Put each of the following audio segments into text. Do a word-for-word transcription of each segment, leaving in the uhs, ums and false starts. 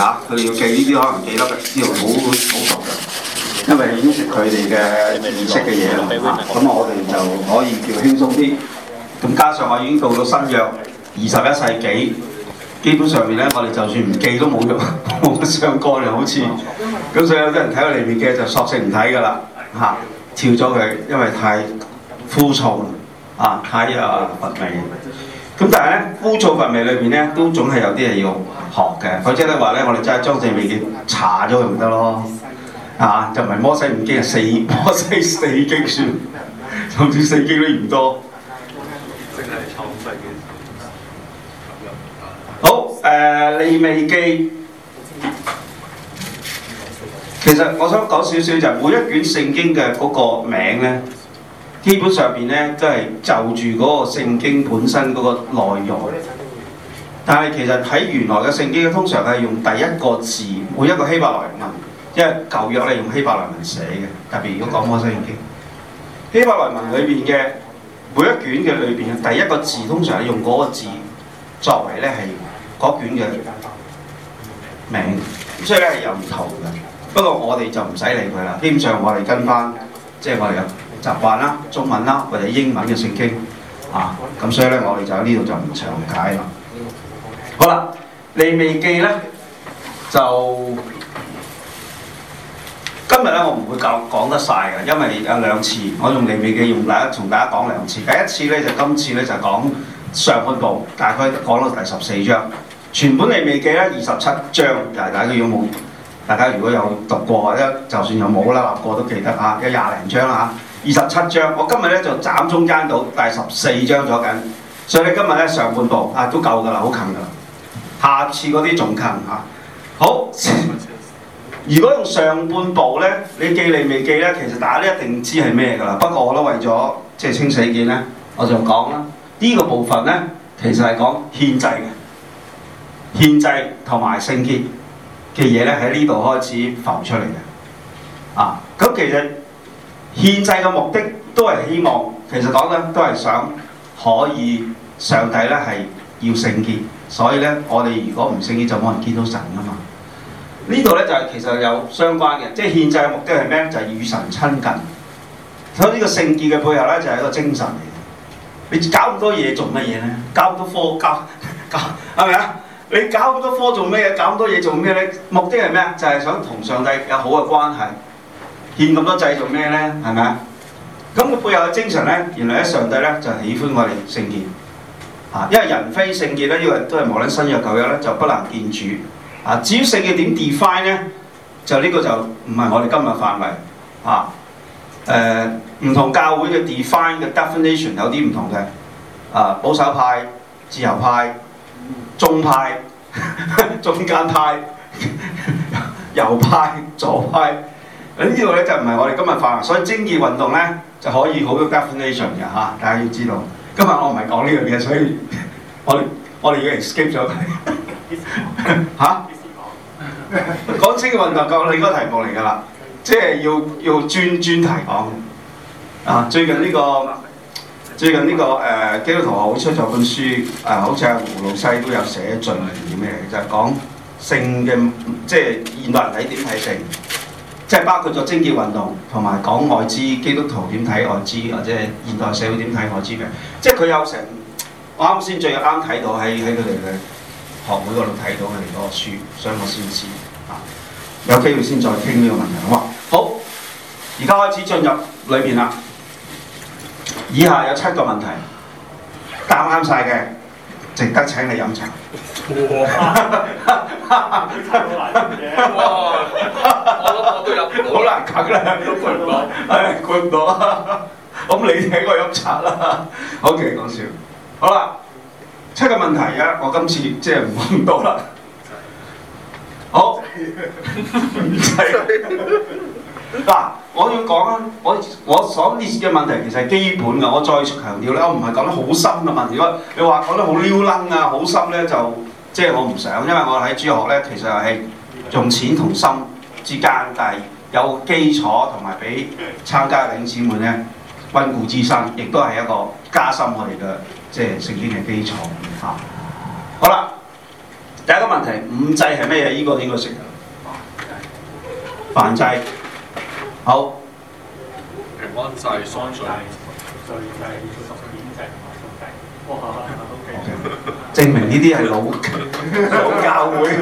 嚇，佢哋要記呢啲可能記得呢度好好熟嘅，因為牽涉佢哋嘅儀式嘅嘢啦嚇。咁我哋就可以叫輕鬆啲。咁加上我已經到到新約二十一世紀，基本上面咧，我哋就算唔記都冇用，冇乜相干嘅好似。咁所以有啲人睇到裏面嘅就索性唔睇㗎啦嚇，跳咗佢，因為太枯燥啦啊，太啊乏味。咁但係咧，枯燥乏味裏邊咧，都總係有啲嘢要學嘅。否則咧話咧，我哋真係將正味嘅查咗佢唔得咯，啊，就唔係摩西五經係四摩西四經算，甚至四經都嫌多。好，誒、呃、利未記，其實我想講少少就係每一卷聖經嘅嗰個名咧。基本上邊咧都係就住嗰個聖經本身嗰個內容，但係其實喺原來嘅聖經通常係用第一個字，每一個希伯來文，因為舊約咧用希伯來文寫嘅，特別如果講摩西五經，希伯來文裏邊嘅每一卷嘅裏邊嘅第一個字，通常係用嗰個字作為咧係嗰卷嘅名，所以咧係有唔同嘅。不過我哋就唔使理佢啦，基本上我哋跟翻即係我哋有習慣啦，中文啦或者英文嘅聖經啊，咁所以咧我哋就喺呢度就唔詳解啦。好啦，利未記咧就今日咧我唔會講講得晒嘅，因為有兩次我用利未記用大家同大家講兩次。第一次咧就今次咧就講上半部，大概講到第十四章。全本利未記咧二十七章，就係大家如果冇，大家如果有讀過或者就算有冇啦立過都記得嚇，有廿零章啦嚇。二十七章，我今日咧就斬中間到第十四章咗緊，所以咧今日咧上半部啊都夠㗎啦，好近㗎啦。下次嗰啲仲近嚇。好，如果用上半部咧，你記利未記咧，其實大家都一定知係咩㗎啦。不過我都為咗即係清死見咧，我就講啦。呢、這個部分咧，其實係講獻祭嘅，獻祭同埋聖潔嘅嘢咧喺呢度開始浮出嚟嘅。啊，咁其實獻祭嘅目的都係希望，其實講緊都係想可以上帝咧係要聖潔，所以咧我哋如果唔聖潔就冇人見到神㗎嘛。呢度咧就係其實有相關嘅，即係獻祭嘅目的係咩？就係、是、與神親近。所以呢個聖潔嘅背後咧就係、是、一個精神嚟嘅。你搞咁多嘢做乜嘢咧？搞咁多科搞搞係咪啊？你搞咁多科做咩嘢？搞咁多嘢做咩咧？目的係咩？就係、是、想同上帝有好嘅關係。獻咁多祭做咩咧？係咪啊？咁個背後嘅精神咧，原來咧上帝咧就喜歡我哋聖潔啊！因為人非聖潔咧，因為都係無論新約舊約咧，就不能見主啊！至於聖潔點 define 咧，就呢個就唔係我哋今日範圍啊。誒、呃，唔同教會嘅 define 嘅 definition 有啲唔同嘅啊，保守派、自由派、中派、中間派、右派、左派。呢度咧就唔係我哋今日範圍，所以貞潔運動咧就可以好多 definition 嘅嚇，大家要知道。今日我唔係講呢樣嘢，所以我哋我哋要 skip 咗佢嚇。講貞潔運動夠另一個題目嚟㗎啦，即係要要專專題講啊！最近呢、這個最近呢、這個誒、呃、基督徒好出咗本書誒、呃，好似阿胡老西都有寫序言咩嘅，就係、是、講性嘅，即係現代人睇點睇性。即係包括咗貞潔運動同埋講愛滋，基督徒點睇愛滋，或者係現代社會點睇愛滋嘅。即係佢有成，我啱先最啱睇到喺喺佢哋嘅學會嗰度睇到佢哋嗰個書，所以我先知啊。有機會先再傾呢個問題，好嘛？好，而家開始進入裏邊啦。以下有七個問題，答啱晒嘅，值得請你飲茶。哇！我諗我都有，好難啃啦，都估唔到，唉，估唔到啊！咁你請我飲茶啦。OK， 講笑。好啦，七個問題啊，我今次即係唔講多啦。好，嗱，我要講啊，我我所列嘅問題其實係基本㗎，我再強調咧，我唔係講得好深嘅問題。如果你話講得好撩楞啊、好深咧，就即係我唔想，因為我喺主學咧，其實係用淺同深之間，但係有基礎同埋俾參加嘅弟兄姊妹咧溫故知新，亦都係一個加深我哋嘅即係聖經嘅基礎嚇。好啦，第一個問問題，五祭係咩嘢？呢、這個應該識。燔祭。好。 平安祭、贖罪。 罪祭、贖愆祭同埋贖祭。哇 ，OK。 證明呢啲係老老教會、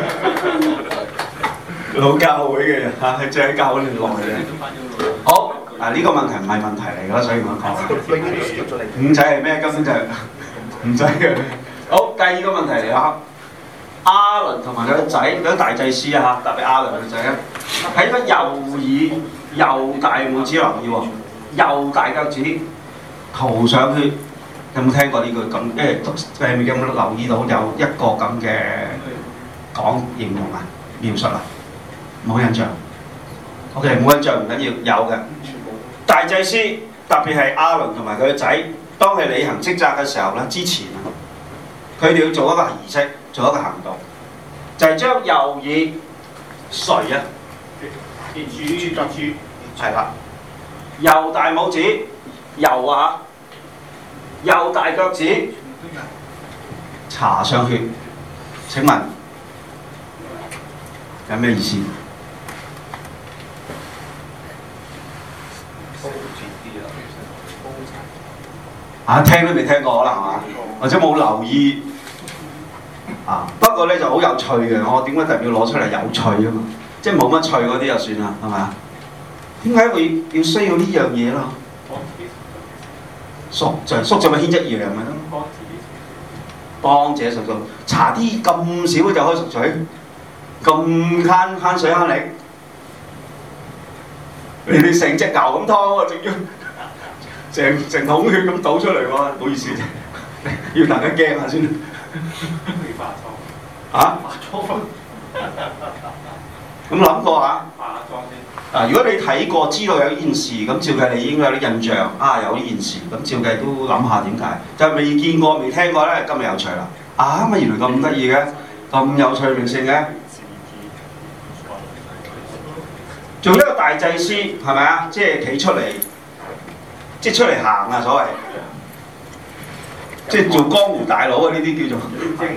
老教會嘅人嚇，係喺教會年內嘅。好，嗱呢個問題唔係問題嚟㗎，所以我講。五祭係咩？根本就係唔使嘅。好，第二個問題嚟啦。亞倫同埋佢個仔，嗰啲大祭司啊嚇，特別亞倫個仔咧，喺個右耳右大拇指留意喎，右大腳趾塗上去。有冇聽過呢句咁？因為誒有冇留意到有一個咁嘅講形容啊、描述啊？冇印象。OK， 冇印象唔緊要，有嘅。大祭司特別係亞倫同埋佢個仔，當佢履行職責嘅時候咧，之前啊，佢哋要做一個儀式，做一個行動，就係、是、將右耳垂啊，跌住跌住，係啦，右大拇指右啊。右大腳趾搽上血，請問有咩意思？啊，聽都未聽過可能係嘛？或者冇留意啊？不過咧就好有趣嘅，我點解特別要攞出嚟有趣啊嘛？即係冇乜趣嗰啲就算啦，係咪啊？點解會要需要呢樣嘢咯？贖罪，贖罪咪牽一樣咪咯？幫者贖罪，搽啲咁少就可以贖罪，咁慳慳水慳力，你哋成隻牛咁劏喎，仲要成成桶血咁倒出嚟喎，唔好意思，要大家驚下先。 化妝啊？ 化妝咁諗過下？ 化妝先。 嗱，如果你睇過知道有呢件事，咁照計你應該有啲印象啊，有呢件事，咁照計都諗下點解？就未見過、未聽過咧，今日有趣啦！啊，乜原來咁得意嘅，咁有趣味性嘅，做一個大祭司係咪啊？即係企出嚟，即係出嚟行啊！所謂，即係做江湖大佬啊！呢啲叫做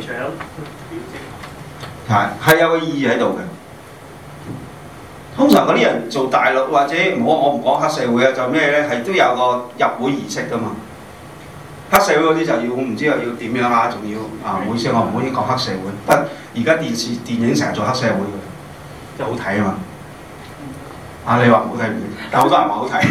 係係有個意義喺度嘅。通常嗰啲人做大陸或者唔好，我唔講黑社會啊，就咩咧？係都有個入會儀式噶嘛。黑社會嗰啲就要唔知又要點樣啊？仲要啊！唔好意思，我唔可以講黑社會。不，而家電視電影成日做黑社會嘅，即係好睇啊嘛。啊，你話唔好睇唔睇？但好多人話好睇。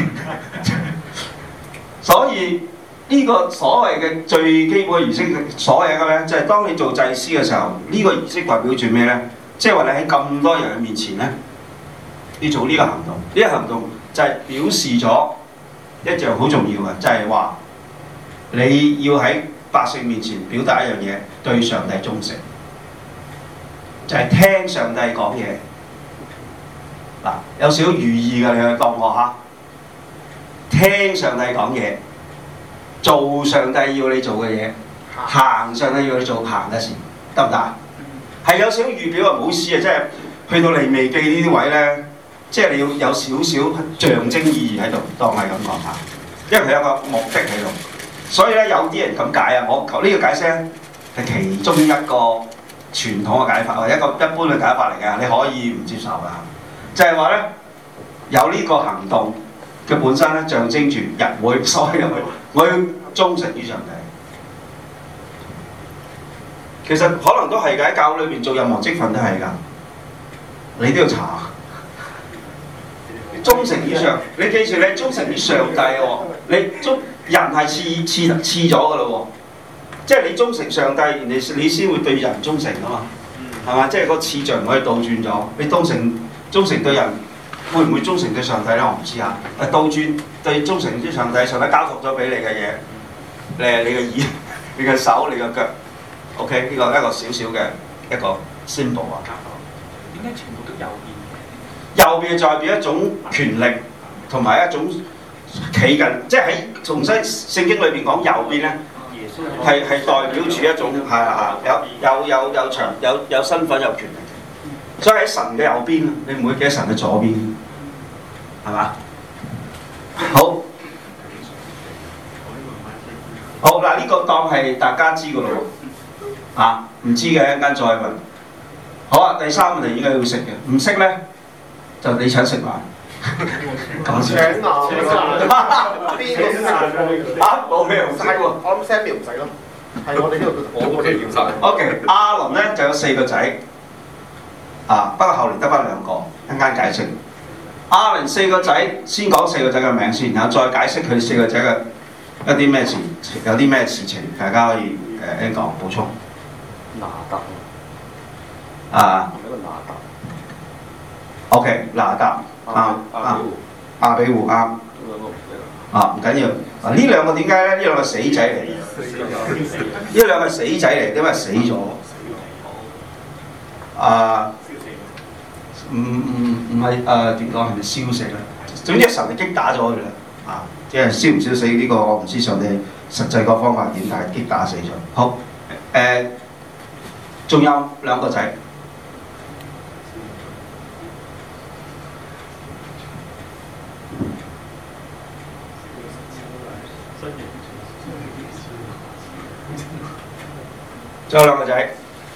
所以呢、這個所謂嘅最基本嘅儀式，所謂嘅咧，就係、是、當你做祭司嘅時候，呢、這個儀式代表住咩咧？即係話你喺咁多人嘅面前咧。要做呢個行動，呢、這個行動就係表示咗一樣好重要嘅，就係、是、話你要喺百姓面前表達一樣嘢，對上帝忠誠，就係、是、聽上帝講嘢。嗱，有少少寓意嘅，你去當我嚇，聽上帝講嘢，做上帝要你做嘅嘢，行上帝要你做行嘅事，得唔得啊？係有少少預表啊，唔好意思啊，即係去到利未記呢啲位咧。即係你要有少少象徵意義喺度，當係咁講下，因為佢有個目的喺度，所以咧有啲人咁解啊。我呢、這個解釋咧係其中一個傳統嘅解法，或者一個一般嘅解法嚟嘅，你可以唔接受㗎。就係話咧，有呢個行動嘅本身咧，象徵住人會所有嘅我要忠誠於上帝。其實可能都係嘅，喺教會裏邊做任何職份都係㗎，你都要查。忠誠於上，你記住你忠誠於上帝喎，你忠人係次次次咗㗎咯喎，即係你忠誠上帝，你你先會對人忠誠㗎嘛，係嘛？即係個次序唔可以倒轉咗，你忠誠忠誠對人，會唔會忠誠對上帝咧？我唔知啊。誒倒轉對忠誠於上帝，上帝交託咗俾你嘅嘢，誒你嘅耳、你嘅手、你嘅腳 ，OK 呢個一個小小嘅一個 symbol 啊。 點解全部都有變？ 右邊就代表一種權力同埋一種企近，即係喺重新聖經裏邊講右邊咧，係係代表住一種係係有有有有長有有身份有權力，所以喺神嘅右邊，你唔會記得神嘅左邊，係嘛？好，好嗱，呢、這個當係大家知㗎咯喎，啊唔知嘅一陣間再問。 好啊，第三個你應該要識嘅，唔識咧就你請食飯。講笑。 請啊！邊個識啊？冇咩唔識喎。 我諗 Sammy 唔使咯，係我哋呢度我我哋點晒？ O.K. 阿倫咧就有四個仔，啊不過後嚟得翻兩個，一陣間解釋。阿倫四個仔，先講四個仔嘅名先，然後再解釋佢四個仔嘅一啲咩事，有啲咩事情，大家可以誒一講補充。 拿達啊係咪一個拿達？ O.K. 拿達啱啱亞比戶啱啊，唔緊要。嗱呢兩個點解咧？呢兩個死仔嚟嘅，呢兩個死仔嚟，因為死咗。啊，唔唔唔係誒點講係咪燒死咧？總之神就擊打咗佢啦，啊，即係燒唔燒死呢個我唔知上帝實際個方法點，但係擊打死咗。好誒，仲有兩個仔。仲有兩個仔，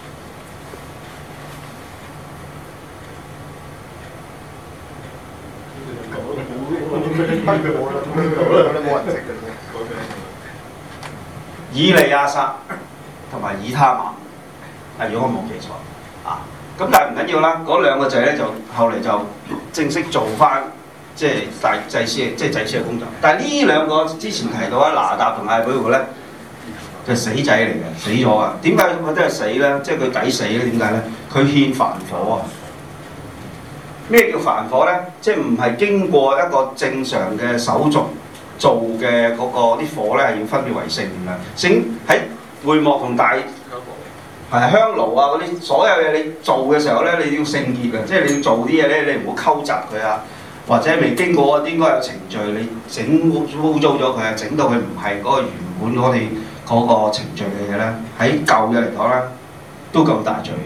以利亞撒同埋以他瑪，啊如果我冇記錯啊，咁但係唔緊要啦。嗰兩個仔咧就後嚟就正式做翻即係大祭司，即係祭司嘅工作。但係呢兩個之前提到啊，拿達同亞比戶咧。就死仔嚟嘅，死咗啊！點解佢真係死咧？即係佢抵死咧？點解咧？佢獻凡火啊！咩叫凡火咧？即係唔係經過一個正常嘅手續做嘅嗰個啲火咧，係要分別為聖嘅。聖喺會幕同大係香爐啊嗰啲所有嘢你做嘅時候咧，你要聖潔嘅，即係你要做啲嘢咧，你唔好溝雜佢啊，或者未經過應該有程序，你整污糟咗佢啊，整到佢唔係嗰個原本我哋。嗰個程序嘅嘢咧，喺舊嘅嚟講咧，都咁大罪。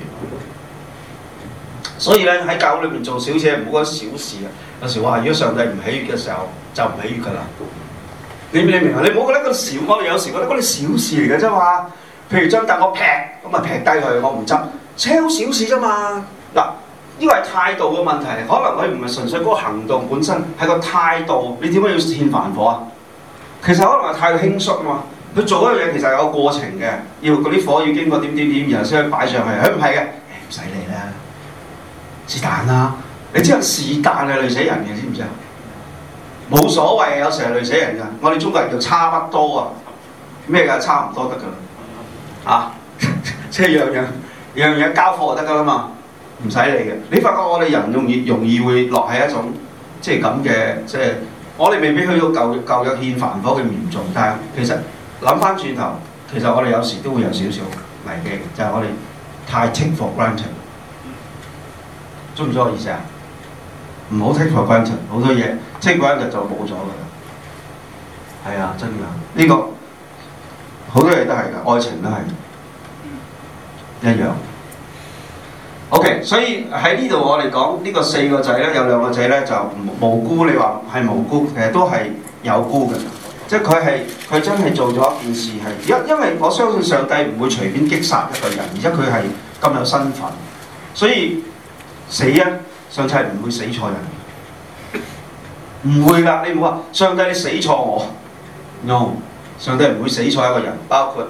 所以咧喺教會裏面做小事，唔好覺得小事啊。有時話，如果上帝唔喜悅嘅時候，就唔喜悅㗎啦。你你明啊？你唔好覺得嗰小，我哋有時覺得嗰啲小事嚟嘅啫嘛。譬如將凳我劈，咁啊劈低佢，我唔執，超小事啫嘛。嗱，呢個係態度嘅問題，可能佢唔係純粹嗰個行動本身，係個態度。你點解要獻凡火啊？其實可能係態度輕率啊嘛。佢做嗰樣嘢其實有個過程嘅，要嗰啲火要經過點點點，然後先可以擺上去。佢唔係嘅，唔使理啦，是但啦。你知道是但係累死人嘅，知唔知啊？冇所謂，有時係累死人㗎。我哋中國人叫差不多啊，咩㗎？差唔多得㗎啦，啊，即係樣樣樣樣交貨就得㗎啦嘛，唔使理嘅。你發覺我哋人容易容易會落喺一種即係咁嘅，即係我哋未必去到舊舊約獻凡火咁嚴重，但係其實。諗翻轉頭，其實我哋有時都會有少少危機，就係、是、我哋太 take for granted，中唔中我意思啊？唔好 take for granted，好多嘢 take for granted 就冇咗㗎啦。係啊，真㗎，呢、這個好多嘢都係㗎，愛情都係一樣。OK， 所以喺呢度我哋講呢個四個仔咧，有兩個仔咧就無辜，你話係無辜，其實都係有辜嘅。即係佢係佢真係做咗一件事係，因因為我相信上帝唔會隨便擊殺一個人，而且佢係咁有身份，所以死啊！上帝唔會死錯人，唔會㗎。你唔好話上帝你死錯我 ，no， 上帝唔會死錯一個人，包括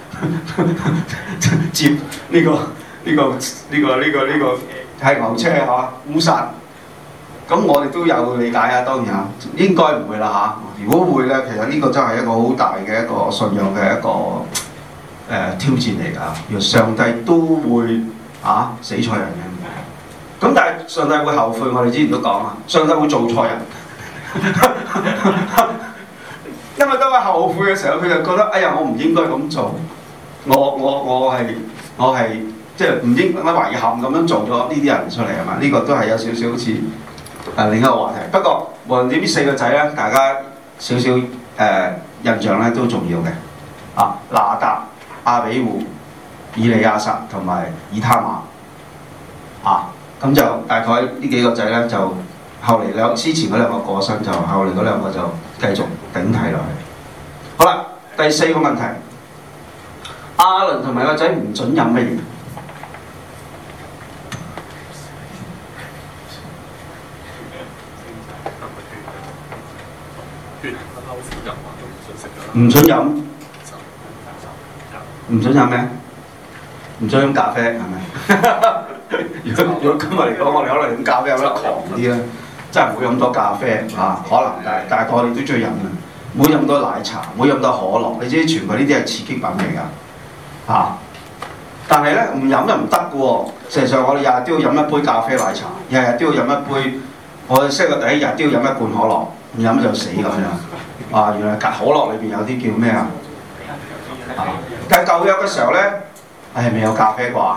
接呢、這個呢、這個呢、這個呢、這個呢、這個係牛車係嘛烏殺。咁我哋都有理解啊，當然啊，應該唔會啦嚇。如果會咧，其實呢個真係一個好大嘅一個信仰嘅一個誒、呃、挑戰嚟㗎。原來上帝都會啊死錯人嘅，咁但係上帝會後悔。我哋之前都講啊，上帝會做錯人，因為當佢後悔嘅時候，佢就覺得哎呀，我唔應該咁做，我我我係我係即係唔應該遺憾咁樣做咗呢啲人出嚟係嘛？呢、這個都係有少少好似。誒另一個話題，不過無論點呢四個仔咧，大家少少誒、呃、印象咧都重要嘅。啊，拿達、亞比戶、以利亞撒同埋以他瑪。啊，咁就大概呢幾個仔咧，就後嚟兩之前嗰兩個過身，就後嚟嗰兩個就繼續頂替落去。好啦，第四個問題，亞倫同埋個仔唔準飲乜嘢？ 飲啊，都唔想食㗎啦。 唔準飲，唔準飲咩？唔準飲咖啡係咪？如果如果今日嚟講，我哋可能飲咖啡飲得狂啲啦，真係唔好飲多咖啡嚇、啊，可能但係但係我哋都中意飲嘅，唔好飲多奶茶，唔好飲多可樂，你知全部呢啲係刺激品嚟㗎嚇。但係咧唔飲就唔得嘅喎，事實上我哋日日都要飲一杯咖啡奶茶，日日都要飲一杯，我哋識個第一日都要飲一罐可樂，唔飲就死咁樣。啊，原來可樂裏邊有啲叫咩啊？啊，但係舊約嘅時候咧，係未有咖啡啩，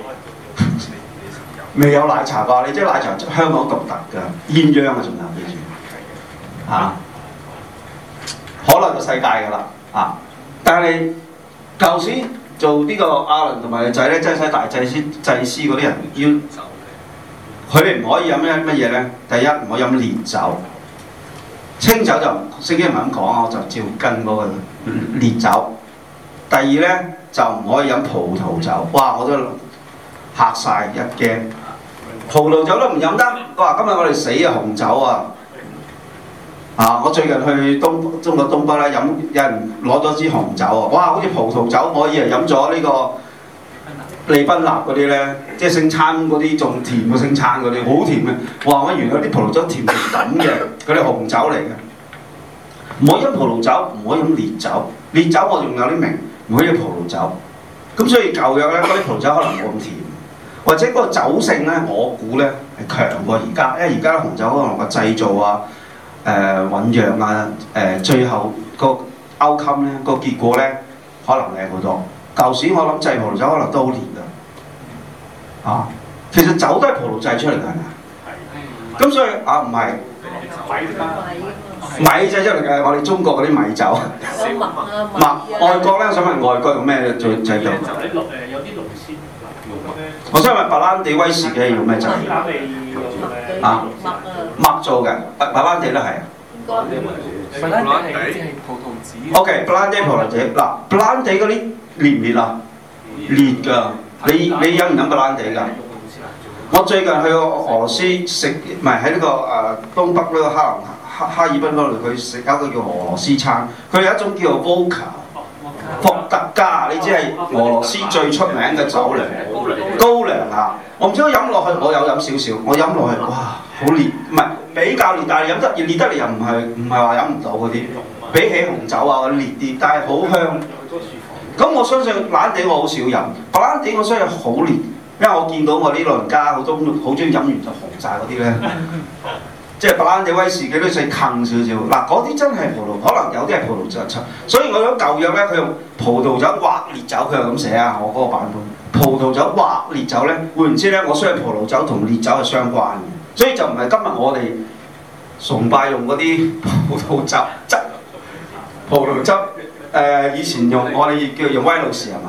未有奶茶啩，你知奶茶香港獨特㗎，鴛鴦啊仲有記住嚇，可樂就世界㗎啦啊！但係舊時做呢個亞倫同埋個仔咧，真係大祭司祭司嗰啲人要，佢哋唔可以飲咩乜嘢咧？第一唔可以飲烈酒。清酒就聖經唔係咁講，我就照跟嗰個烈酒。第二咧就唔可以飲葡萄酒，哇！我都嚇晒一驚，葡萄酒都唔飲得。哇！今日我哋死啊紅酒啊！啊！我最近去東中國東北咧飲，有人攞咗支紅酒啊！哇！好似葡萄酒，我以為飲咗呢個利賓納嗰啲咧，即係聖餐嗰啲仲甜過聖餐嗰啲，好甜嘅。哇！我原來啲葡萄酒甜到咁嘅，嗰啲紅酒嚟嘅。唔可以飲葡萄酒，唔可以飲烈酒。烈酒我仲有啲明，唔可以飲葡萄酒。咁所以舊約咧，嗰啲葡萄酒可能冇咁甜，或者嗰個酒性咧，我估咧係強過而家，因為而家紅酒可能個製造啊、誒、呃、醖釀啊、誒、呃、最後個 outcome 咧個結果咧可能靚好多。舊時我諗製葡萄酒可能都好烈㗎，啊，其實酒都係葡萄製出嚟㗎，係咪？咁所以啊唔係米製出嚟嘅，我哋中國嗰啲米酒。 有麥啊麥外國咧，我想問外國用咩做製造？ 就喺綠誒有啲龍鮮我想問白蘭地威士忌用咩製？啊，麥做嘅，白白蘭地都係。 應該。 白蘭地係好似係葡萄籽。 O.K. 白蘭地葡萄籽嗱，白蘭地嗰啲烈唔烈啊？烈㗎，你你飲唔飲白蘭地㗎？我最近去過俄羅斯食，唔係喺呢個誒、呃、東北呢個哈林哈哈爾濱嗰度，佢食一個叫俄羅斯餐，佢有一種叫做 Vodka 伏特加，你知係俄羅斯最出名嘅酒嚟，高粱啊！我唔知我飲落去，我有飲少少，我飲落去，哇，好烈，唔係比較烈，但係飲得烈得嚟又唔係唔係話飲唔到嗰啲，比起紅酒啊嗰啲烈啲，但係好香。咁我相信白蘭地我好少飲，白蘭地我相信好烈。因為我見到我啲老人家好多好中意飲完就紅晒嗰啲咧，即係白蘭地威士忌都使坑少少。嗱，嗰啲真係葡萄，可能有啲係葡萄酒出。所以我諗舊約咧，佢用葡萄酒或烈酒，佢係咁寫啊。我嗰個版本，葡萄酒或烈酒咧，換言之咧，我相信葡萄酒同烈酒係相關嘅。所以就唔係今日我哋崇拜用嗰啲葡萄酒汁、葡萄汁。誒、呃，以前用我哋叫用威魯士係嘛？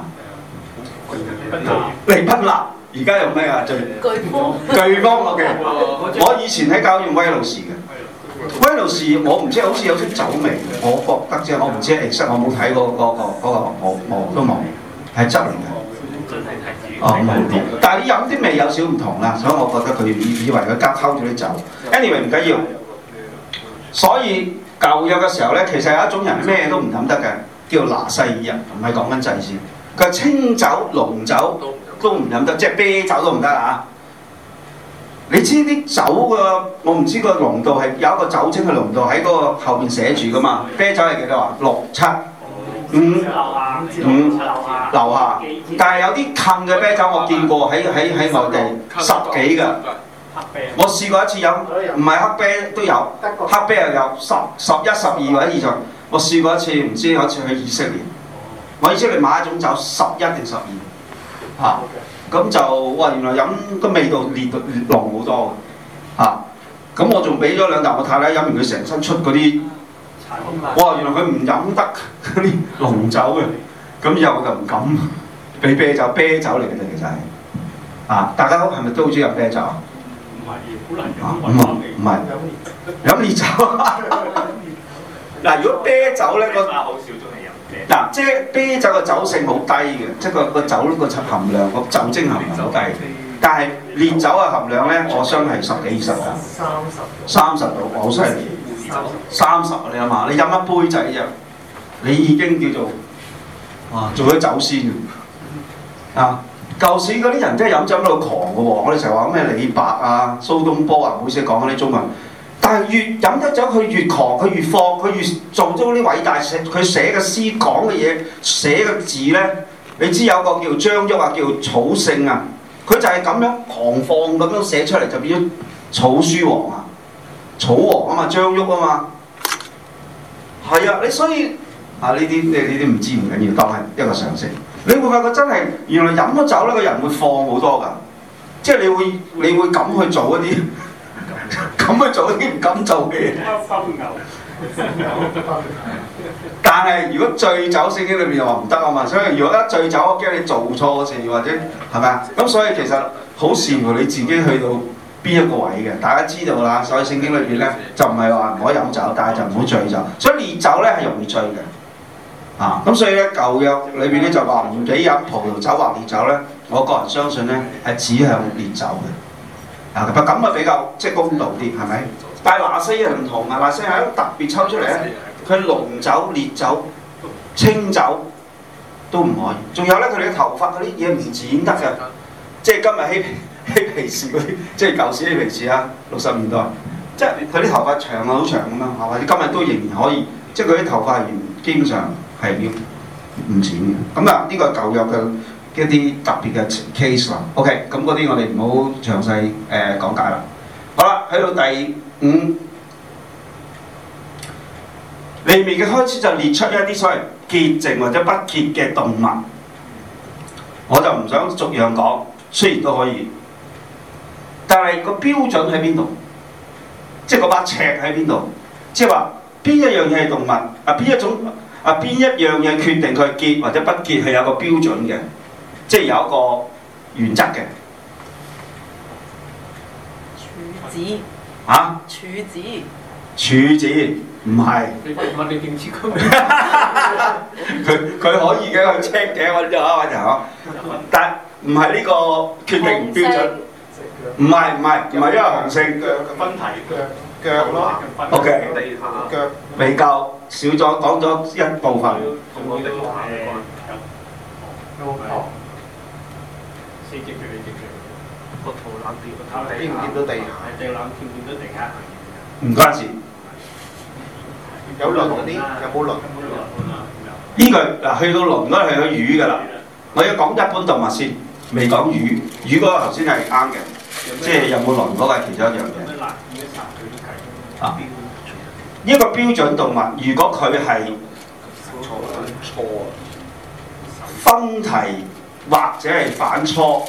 利賓納。而家用咩啊？最颶風。 颶風 OK。我以前喺教用威魯士嘅，威魯士我唔知好似有啲酒味，我覺得啫，我唔知 exact，我冇睇過嗰、嗰個嗰、嗰個我我都冇，係汁嚟嘅。哦，冇啲，但係你飲啲味有少唔同啦，所以我覺得佢以以為佢加溝咗啲酒。anyway 唔緊要，所以舊約嘅時候咧，其實有一種人咩都唔飲得嘅，叫拿細耳人，唔係講緊祭司，佢係清酒、濃酒。都唔飲得，即係啤酒都唔得啊！你知啲酒嘅，我唔知個濃度係有一個酒精嘅濃度喺嗰個後邊寫住噶嘛？啤酒係幾多啊？六七五五樓下，但係有啲近嘅啤酒我見過喺喺喺外地十幾㗎。我試過一次飲，唔係黑啤都有，黑啤又有十十一十二或者以上。我試過一次，唔知有一次去以色列，我以色列買一種酒十一定十二。嚇，咁、啊、就哇原來飲個味道烈到烈濃好多嘅，嚇，咁我仲俾咗兩啖我太太飲完，佢成身出嗰啲，哇原來佢唔飲得嗰啲濃酒嘅，咁以後我就唔敢俾啤酒，啤酒嚟嘅啫其實係，啊大家係咪都好中意飲啤酒？ 唔係，好難飲。 唔係唔係，飲烈酒。嗱如果啤酒咧個， 好少中意飲。 嗱，即係啤酒嘅酒性好低嘅，即係個個酒個含量個酒精含量好低。但係烈酒嘅含量咧，我相信係十幾二十㗎。三十。三十度，好犀利。 三十啊！你諗下，你飲一杯仔啫，你已經叫做哇做咗酒仙啊！舊時嗰啲人真係飲酒到狂嘅喎，我哋成日話咩李白啊、蘇東坡啊，唔好意思講嗰啲中文。但係越飲得酒，佢越狂，佢越放，佢越做咗啲偉大寫，佢寫嘅詩講嘅嘢，寫嘅字咧，你知有個叫張旭啊，叫草聖啊，佢就係咁樣狂放咁樣寫出嚟，就變咗草書王啊，草王啊嘛，張旭啊嘛，係啊，你所以啊呢啲你呢啲唔知唔緊要，當係一個常識。你會發覺真係原來飲咗酒咧，個人會放好多㗎，即係你會你會咁去做一啲。咁去做啲唔敢做嘅嘢。但係如果醉酒聖經裏面又話唔得啊嘛，所以如果一醉酒，我驚你做錯事或者係咪啊？咁所以其實好視乎你自己去到邊一個位嘅。大家知道啦，所以聖經裏邊咧就唔係話唔可以飲酒，但係就唔好醉酒。所以烈酒咧係容易醉嘅。啊，咁所以咧舊約裏邊咧就話唔俾飲葡萄酒或烈酒咧，我個人相信咧係指向烈酒嘅。啊，咁啊比較即係公道啲，係咪？但係拿西係唔同啊，拿西係特別抽出嚟咧，佢濃酒、烈酒、清酒都唔可以。仲有咧，佢哋嘅頭髮嗰啲嘢唔剪得嘅，即係今日嬉嬉皮士嗰啲，即係舊時嬉皮士啊，六十年代，即係佢啲頭髮長啊，好長咁樣，或者今日都仍然可以，即係佢啲頭髮係基本上係要唔剪嘅。咁啊，呢個舊約嘅。一啲特別嘅 case 啦 ，OK，咁嗰啲我哋唔好詳細誒、呃、講解啦。好啦，去到第五，利未嘅開始就列出一啲所謂潔淨或者不潔嘅動物，我就唔想逐樣講，雖然都可以，但係個標準喺邊度？即係嗰把尺喺邊度？即係話邊一樣嘢係動物啊？邊一種啊？邊一樣嘢決定佢潔或者不潔係有個標準嘅？即係有一個原則嘅。 處子。 啊？ 處子。 處子唔係。 問你點知佢？ 佢佢可以嘅，佢 check 嘅，我就啊，我就但唔係呢個決定標準。唔係唔係唔係因為紅色腳嘅分題腳腳咯。 O K。 腳未夠，少咗講咗一部分。 同我哋誒有冇？四隻腳，你隻腳個肚腩跌，個頭見唔見到地下？ 隻腩見唔見到地下？ 唔關事。 有輪嗰啲有冇輪？ 呢個嗱去到輪嗰度係個魚㗎啦。我要講一般動物先，未講魚。魚嗰個頭先係啱嘅，即係有冇輪嗰個係其中一樣嘢。啊，呢一個標準動物，如果佢係錯啊， 分蹄或者係反芻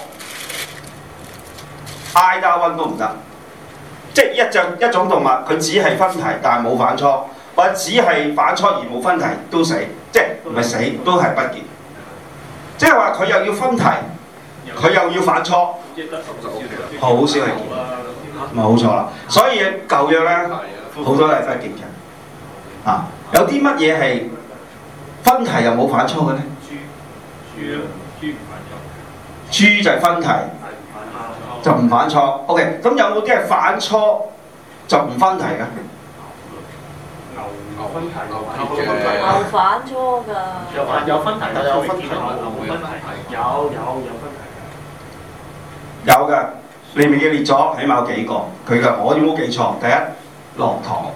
either one 都唔得。即係一隻一種動物，佢只係分蹄但係冇反芻，或者只係反芻而冇分蹄都死，即係唔係死都係不潔。即係話佢又要分蹄，佢又要反芻，好少係潔，冇錯啦。所以舊約咧好多都係不潔嘅。啊，有啲乜嘢係分蹄又冇反芻嘅咧？ 豬啊，豬唔反芻。 豬就係分蹄，就唔反芻。OK， 咁有冇啲係反芻就唔分蹄嘅？ 牛牛分蹄， 牛反芻㗎。 有分有分蹄， 但有分蹄牛分蹄，有有有分蹄有嘅，你未記列咗，起碼有幾個。佢嘅我有冇記錯？第一，駱駝。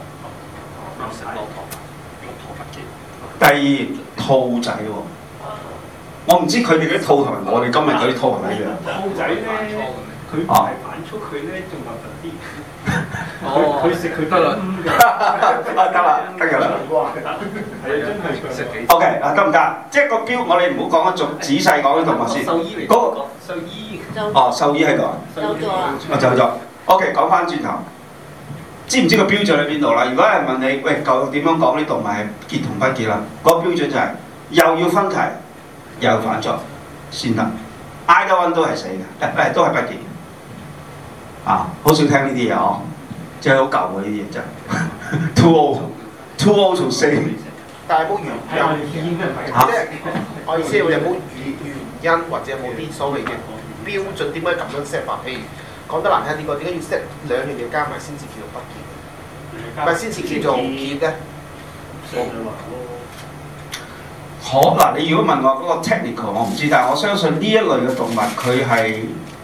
第二，兔仔喎。我唔知佢哋啲兔同埋我哋今日嗰啲兔係咪一樣？ 兔仔咧，佢唔係反芻，佢咧仲核突啲。佢佢食佢得啦。 啊得啦，得㗎啦。 係啊，真係食幾。 O K 啊，得唔得？即係個標，我哋唔好講得仲仔細講啲動物先。 獸醫嚟。 嗰個獸醫。 哦，獸醫喺度啊。 走咗啦。 我走咗。O K，講翻轉頭，知唔知個標準喺邊度啦？如果係問你，喂，究竟點樣講啲動物係潔同不潔啦？嗰個標準就係又要分蹄，又要反芻先得。either one 都係死嘅，誒都係不潔。啊，好少聽呢啲嘢哦，即係好舊嘅呢啲嘢真係。Too old，too old to say。 但係冇原係我哋醫嘅係。 即係我意思係有冇原原因或者有冇啲所謂嘅標準？點解咁樣 set 法？譬如講得難聽啲講，點解要 set 兩樣嘢加埋先至叫做不潔？ 咪先至叫做結咧？ 可嗱，你如果問我嗰個 technical，我唔知，但係我相信呢一類嘅動物佢係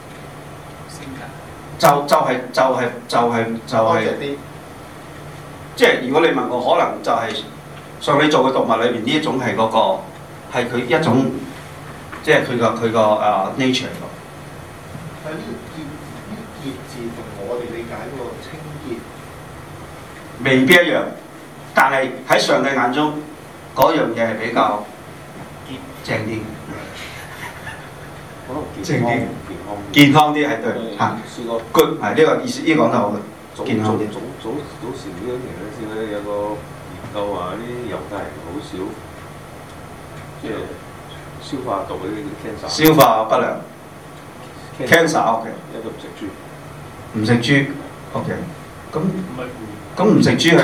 就就係就係就係就係，即係如果你問我，可能就係上你做嘅動物裏邊呢一種係嗰個係佢一種，即係佢個佢個誒 nature 嚟㗎。 但係呢個結呢結字同我哋理解嗰個清潔未必一樣，但係喺上帝眼中嗰樣嘢係比較正啲，正啲，健康啲係對嚇。good 係呢個意思，呢個講得好嘅，健康啲。 早早早時呢幾年咧，先咧有個研究話啲猶太人好少即係消化道嗰啲 cancer。 消化不良 cancer OK。 一個唔食豬。 唔食豬 OK。咁咁唔食豬係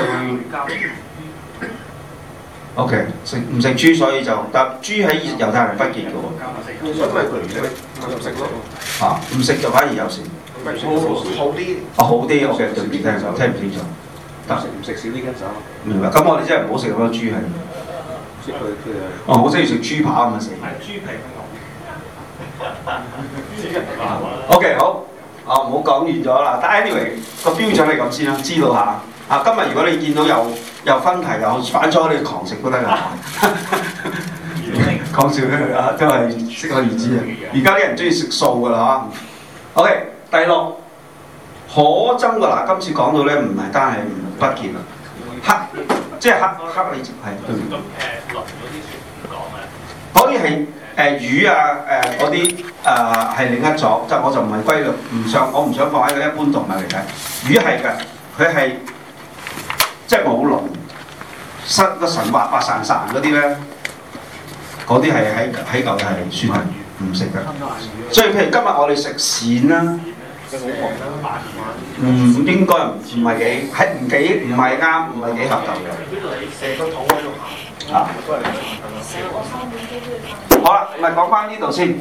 OK， 食唔食豬所以就，但豬喺猶太人不潔嘅喎。 所以咪佢唔食唔食咯。 啊，唔食就反而有事。 好啲。 啊好啲 OK， 對唔住聽唔聽唔清楚。得唔食少啲 cancer。 明白。咁我哋真係唔好食咁多豬係。 即係佢佢係。 哦，我真係要食豬扒咁啊死。 係豬皮嘅 OK 好，啊唔好講完咗啦。但 anyway 個標準係咁先啦，知道下。啊，今日如果你見到有有分題又反咗，你狂食都得㗎。講笑咧啊，都係適可而止啊。而家啲人中意食素㗎啦嚇。OK， 第六可憎㗎嗱，今次講到咧唔係單係唔不潔啦，黑即係黑黑你係對唔對？ 咁誒輪嗰啲船講啊， 嗰啲係誒魚啊誒嗰啲誒係另一種，即係我就唔係歸類，唔想我唔想放喺個一般動物嚟睇。魚係㗎，佢係。即係冇龍，失個神滑滑潺潺嗰啲咧，嗰啲係喺喺舊係算係唔食嘅。所以譬如今日我哋食鱔啦，唔應該唔係幾係唔幾唔係啱，唔係幾合舊嘅。 成個肚喺度行。 啊，好啦，咪講翻呢度先。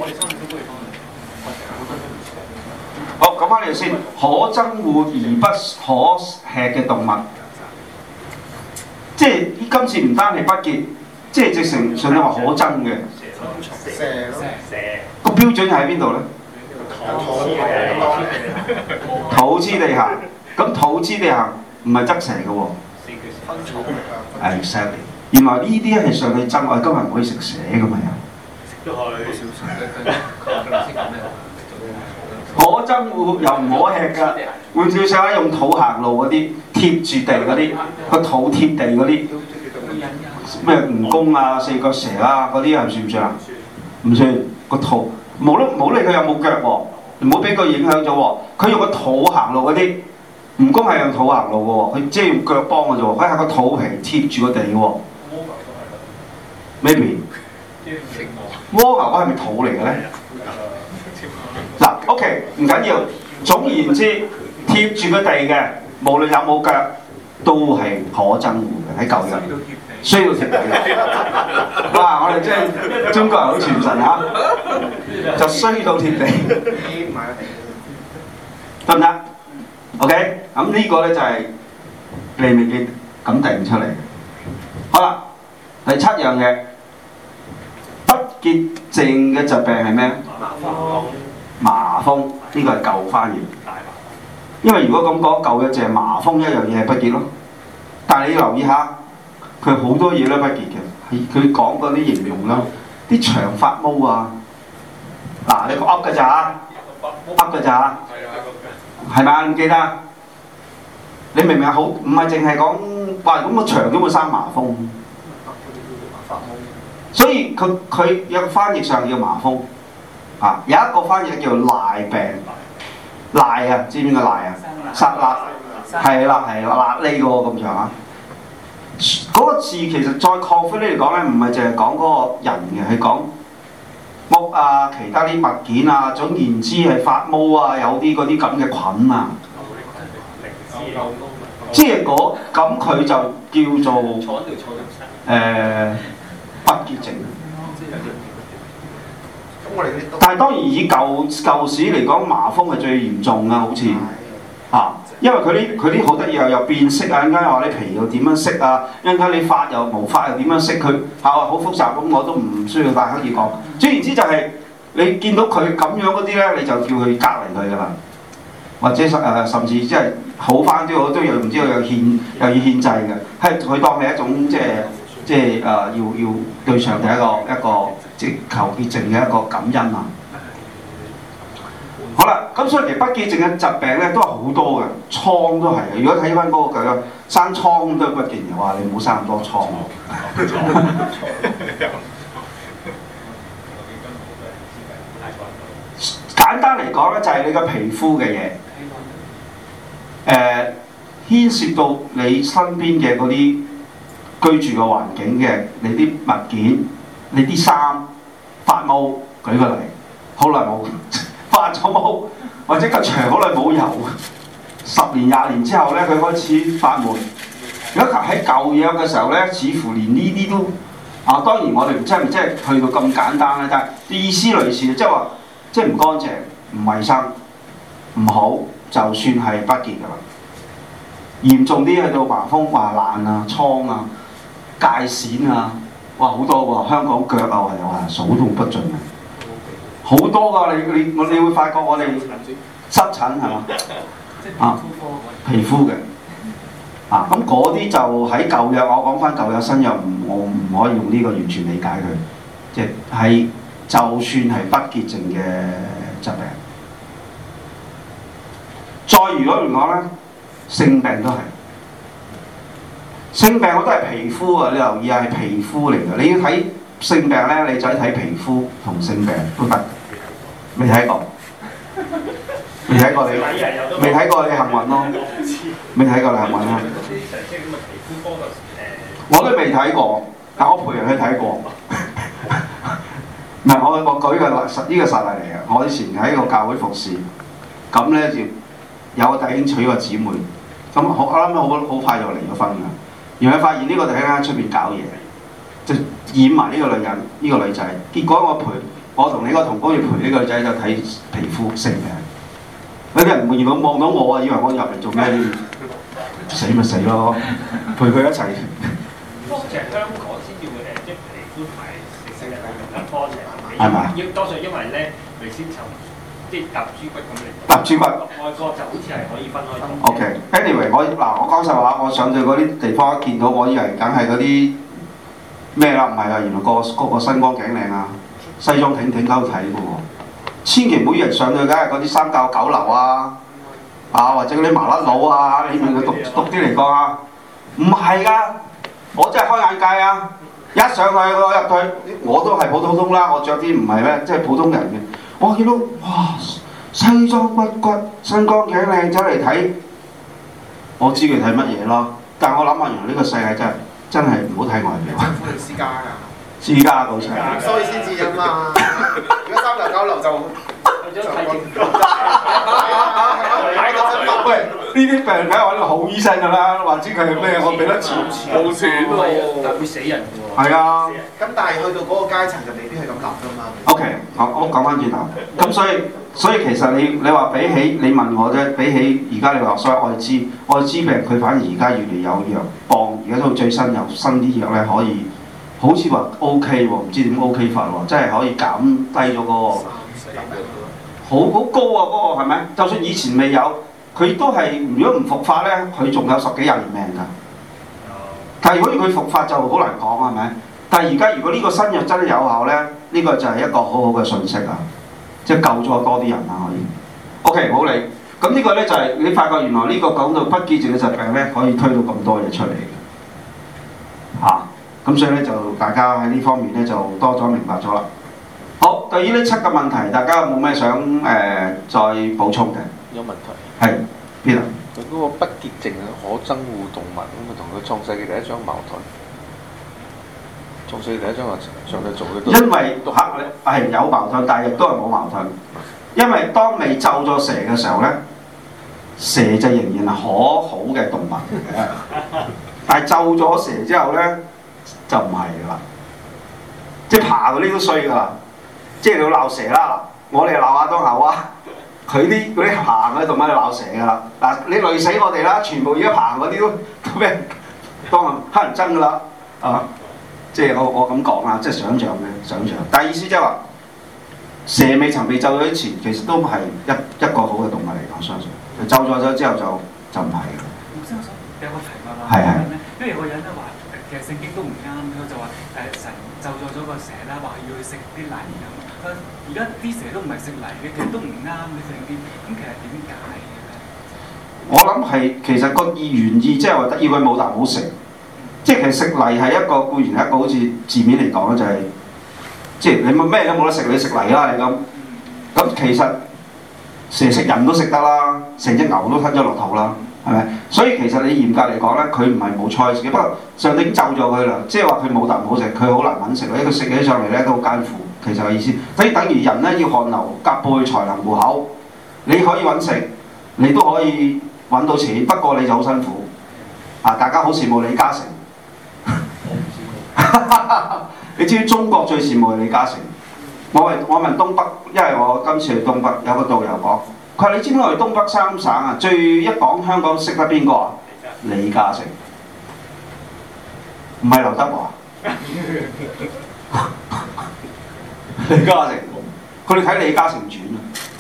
好，講翻呢度先。可憎惡而不可吃嘅動物。即係今次唔單係不潔，即係直情上帝話可憎嘅。 蛇咯。 蛇。 個標準喺邊度咧？土之地行，咁土之地行唔係側蛇嘅喎。係 exactly。原來呢啲係上帝憎，我哋今日唔可以食蛇㗎嘛又。可憎惡又唔可吃㗎，換句説話用土行路嗰啲貼住地嗰啲，個土貼地嗰啲咩蜈蚣啊、四腳蛇啊嗰啲係算唔算啊？唔算，個土冇得冇理佢有冇腳喎，唔好俾佢影響咗喎。佢用個土行路嗰啲蜈蚣係用土行路嘅喎，佢即係用腳幫嘅啫喎，佢係個土皮貼住個地嘅喎。Maybe 蝸牛嗰係咪土嚟嘅咧？嗱 ，OK， 唔緊要。總言之，貼住個地嘅，無論有冇腳，都係可憎惡嘅喺舊日，需要貼地嘅。哇！我哋真係中國人好傳神嚇，就衰到貼地，得唔得 ？OK， 咁呢個咧就係利未記咁定出嚟。好啦，第七樣嘢，不潔淨嘅疾病係咩？麻風，呢、這個係舊翻譯。因為如果咁講，舊嘅就係麻風一樣嘢係不潔咯。但係你要留意下，佢好多嘢都不潔嘅。係佢講嗰啲形容啦，啲長髮毛啊，嗱你個噏㗎咋，噏㗎咋，係咪？唔記得？你明唔明啊？好，唔係淨係講話咁個長都會生麻風。所以佢佢有個翻譯上叫麻風。啊，有一個翻譯叫做賴病，賴啊，知唔知個賴啊？殺辣，係啦係啦，辣呢個咁長啊。嗰個字其實再擴闊啲嚟講咧，唔係淨係講嗰個人嘅，係講屋啊、其他啲物件啊，總言之係發毛啊，有啲嗰啲咁嘅菌啊。即係嗰咁佢就叫做誒不潔淨。但係當然以舊舊時嚟講，麻風係最嚴重㗎，好似啊，因為佢啲佢啲好得意又又變色啊，陣間又話你皮又點樣色啊，陣間你髮又毛髮又點樣色，佢係啊好複雜咁，我都唔需要大刻意講。總言之就係、是、你見到佢咁樣嗰啲咧，你就叫佢隔離佢㗎啦，或者誒、呃、甚至即係好翻啲，我都有唔知道有獻又要獻祭嘅，係佢當係一種即係即係誒、呃、要要對上帝一個一個即係求潔淨嘅一個感恩啊！好啦，咁所以其實不潔淨嘅疾病咧都係好多嘅，瘡都係嘅。如果睇翻嗰個佢生瘡都係不潔嘅話，你唔好生咁多瘡。簡單嚟講咧，就係、是、你個皮膚嘅嘢，誒、呃、牽涉到你身邊嘅嗰啲居住嘅環境嘅，你啲物件、你啲衫、發毛，舉個例，好耐冇。發咗毛，或者個牆好耐冇油，十年廿年之後咧，佢開始發霉。如果喺舊約嘅時候咧，似乎連呢啲都啊，當然我哋唔真係唔真係去到咁簡單啦，但係意思類似，即係話即係唔乾淨、唔衞生、唔好，就算係不潔㗎啦。嚴重啲去到麻風、話爛啊、瘡啊、界線啊，哇好多喎！香港腳啊，又話數都不盡啊！好多㗎，你你我你會發覺我哋濕疹係嘛啊皮膚嘅啊，咁嗰啲就喺舊約，我講翻舊約新約，唔我唔可以用呢個完全理解佢，即係就算係不潔淨嘅疾病。再如果嚟講咧，性病都係性病，我都係皮膚啊！你留意下係皮膚嚟嘅，你要睇。性病咧，你就睇皮膚同性病都得，未睇過，未睇過你，未睇過你幸運咯，未睇過你幸運咯。我都未睇過，但我陪人去睇過。唔係我我舉個實呢個實例嚟嘅，我以前喺個教會服侍，咁咧就有個弟兄娶個姊妹，咁我我諗好好快就離咗婚㗎，然後發現呢個弟兄喺出邊搞嘢。就染埋呢個女人，呢、這個女仔。結果我陪我同你個同工要陪呢個女仔就睇皮膚性病。有啲人見到望到我啊，以為我入嚟做咩？死咪死咯，陪佢一齊。 多謝香港先要誒，即係皮膚同埋性病同一科嘅， 係咪？ 要多數因為咧，佢先就即係揼豬骨咁嚟。 揼豬骨。 外國就好似係可以分開。 OK，anyway，、okay. 我嗱我講實話，我上到嗰啲地方一見到，我以為梗係嗰啲。咩啦？唔係啊！原來個個個身光頸靚啊，西裝挺挺喺度睇嘅喎。千祈唔好以為上去梗係嗰啲三教九流啊，啊或者嗰啲麻甩佬啊，你問佢讀讀啲嚟講啊，唔係㗎，我真係開眼界啊！一上去我入去，我都係普通通啦，我着啲唔係咩，即係普通人嘅。我見到哇，西裝骨骨，身光頸靚走嚟睇，我知佢睇乜嘢咯。但係我諗下，原來呢個世界真係〜真係唔好睇外表。 政府定私家㗎？ 私家好齊。 所以先至因嘛。如果三流九流就就睇政府。 喂，呢啲病睇我呢個好醫生㗎啦，或者佢係咩？我俾得錢， 冇錢喎， 但會死人㗎喎。 係啊。 咁但係去到嗰個階層就未必係咁諗㗎嘛。 O K，我我講翻轉頭，咁所以所以其實你你話比起你問我啫，比起而家你話所謂愛滋愛滋病，佢反而而家越嚟有藥幫，而家都最新有新啲藥咧，可以好似話 O K 喎，唔知點 O K 法喎，真係可以減低咗嗰個好好高啊！嗰個係咪？就算以前未有，佢都係如果唔復發咧，佢仲有十幾廿年命㗎。但係如果佢復發就好難講係咪？但係而家如果呢個新藥真係有效咧，呢個就係一個好好嘅訊息啊！即係救咗多啲人啦，可以。OK， 好你。咁呢個咧就係你發覺原來呢個講到不潔淨嘅疾病咧，可以推到咁多嘢出嚟嘅。嚇、啊！咁所以咧就大家喺呢方面咧就多咗明白咗啦。好，對於呢七個問題，大家有冇咩想誒、呃、再補充嘅？ 有問題。 係邊啊？ 佢嗰個不潔淨嘅可憎惡動物，咁啊同佢創世記第一章矛盾。創世記第一章話上帝做嘅都因為嚇係有矛盾，但係亦都係冇矛盾。因為當未咒咗蛇嘅時候咧，蛇就仍然係可好嘅動物嚟嘅。但係咒咗蛇之後咧，就唔係㗎啦。即係爬嗰啲都衰㗎啦。即係你要鬧蛇啦，我哋鬧亞當夏娃， 佢啲嗰啲行嘅動物就鬧蛇㗎啦。嗱，你累死我哋啦，全部而家行嗰啲都都俾人當黑人憎㗎啦，啊！即係我我咁講啦，即係想像嘅想像。但係意思即係話，蛇未曾被咒咗之前，其實都係一一個好嘅動物嚟，我相信。咒咗咗之後就就唔係嘅。 我先想有個題目啦， 係係因為有個人咧話，其實聖經都唔啱，佢就話誒神咒咗咗個蛇啦，話要去食啲泥咁。佢而家啲蛇都唔係食泥嘅，其實都唔啱嘅聖經。咁其實點解嘅咧？ 我諗係其實個意原意即係話要佢冇啖好食。即係其實食泥係一個固然係一個好似字面嚟講咧，就係、是、即係你冇咩都冇得食，你食泥啦你咁。咁其實蛇食人都食得啦，成隻牛都吞咗落肚啦，係咪？所以其實你嚴格嚟講咧，佢唔係冇菜食嘅，不過上帝已經咒咗佢啦，即係話佢冇啖好食，佢好難揾食，因為佢食起上嚟咧都好艱苦。其實嘅意思，所以等於人咧要汗流浹背才能糊口。你可以揾食，你都可以揾到錢，不過你就好辛苦。啊！大家好羨慕李嘉誠。你知唔知中國最羨慕係李嘉誠？我問我問東北，因為我今次去東北，有個導遊講，佢話你知唔知我哋東北三省啊，最一講香港識得邊個啊？李嘉誠，唔係劉德華。李嘉誠，佢哋睇李嘉誠傳啊，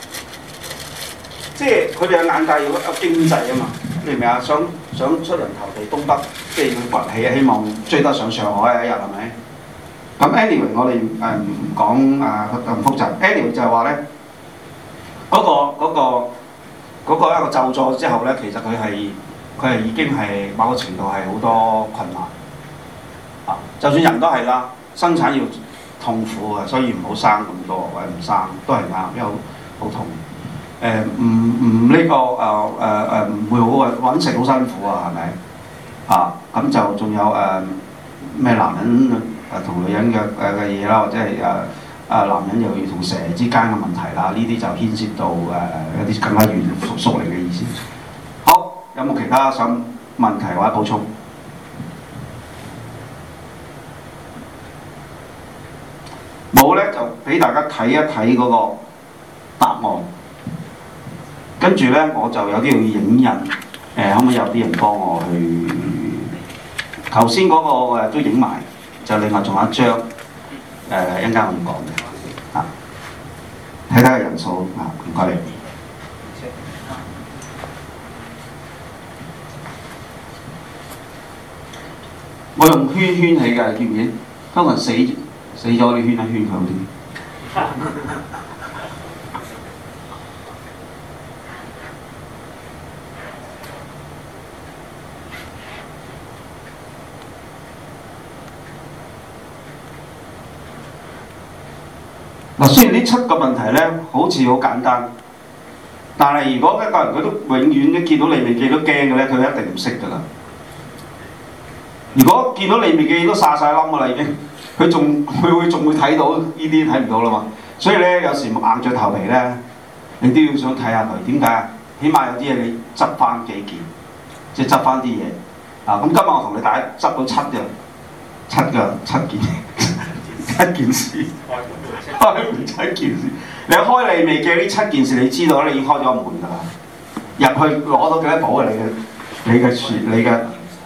即係佢哋嘅眼界要有經濟啊嘛，你明唔明啊？想想出人頭地，東北即係要崛起啊，希望追得上上海一日係咪？咁 anyway 我哋誒唔講啊咁複雜 ，anyway 就係話咧，嗰、嗰個嗰、嗰個嗰、嗰個、一個咒詛之後咧，其實佢係佢係已經係某個程度係好多困難啊，就算人都係啦，生產要痛苦嘅，所以唔好生咁多或者唔生都係啱，因為好好痛。誒唔唔呢個誒誒誒唔會好揾食好辛苦啊，係咪啊？咁就仲有誒咩、呃、男人誒同、呃、女人嘅誒嘅嘢啦，或者係誒誒男人又要同蛇之間嘅問題啦，呢啲就牽涉到誒、呃、一啲更加遠屬屬靈嘅意思。好，有冇其他想問題或者補充？冇咧，就俾大家睇一睇嗰個答案。跟住咧，我就有啲要影印，誒、呃、可唔可以有啲人幫我去？頭先嗰個誒都影埋，就另外仲有一張，誒一陣間我唔講嘅，啊，睇睇個人數啊，唔該你。我用圈圈起嘅，見唔見？通常死死咗，你圈一圈佢好啲。嗱，雖然呢七個問題咧好似好簡單，但係如果一個人佢都永遠都見到利未記都驚嘅咧，佢一定唔識㗎啦。如果見到利未記都殺晒冧㗎啦，已經佢仲佢會仲會睇到呢啲睇唔到啦嘛。所以咧有時硬著頭皮咧，你都要想睇下佢點解啊？起碼有啲嘢你執翻幾件，即係執翻啲嘢啊！咁今日我同你大家執到七樣，七個七件一件事。開門七件事，你開利未記呢七件事，你知道咧，你已經開咗個門㗎啦。入去攞到幾多寶啊？你嘅你嘅選你嘅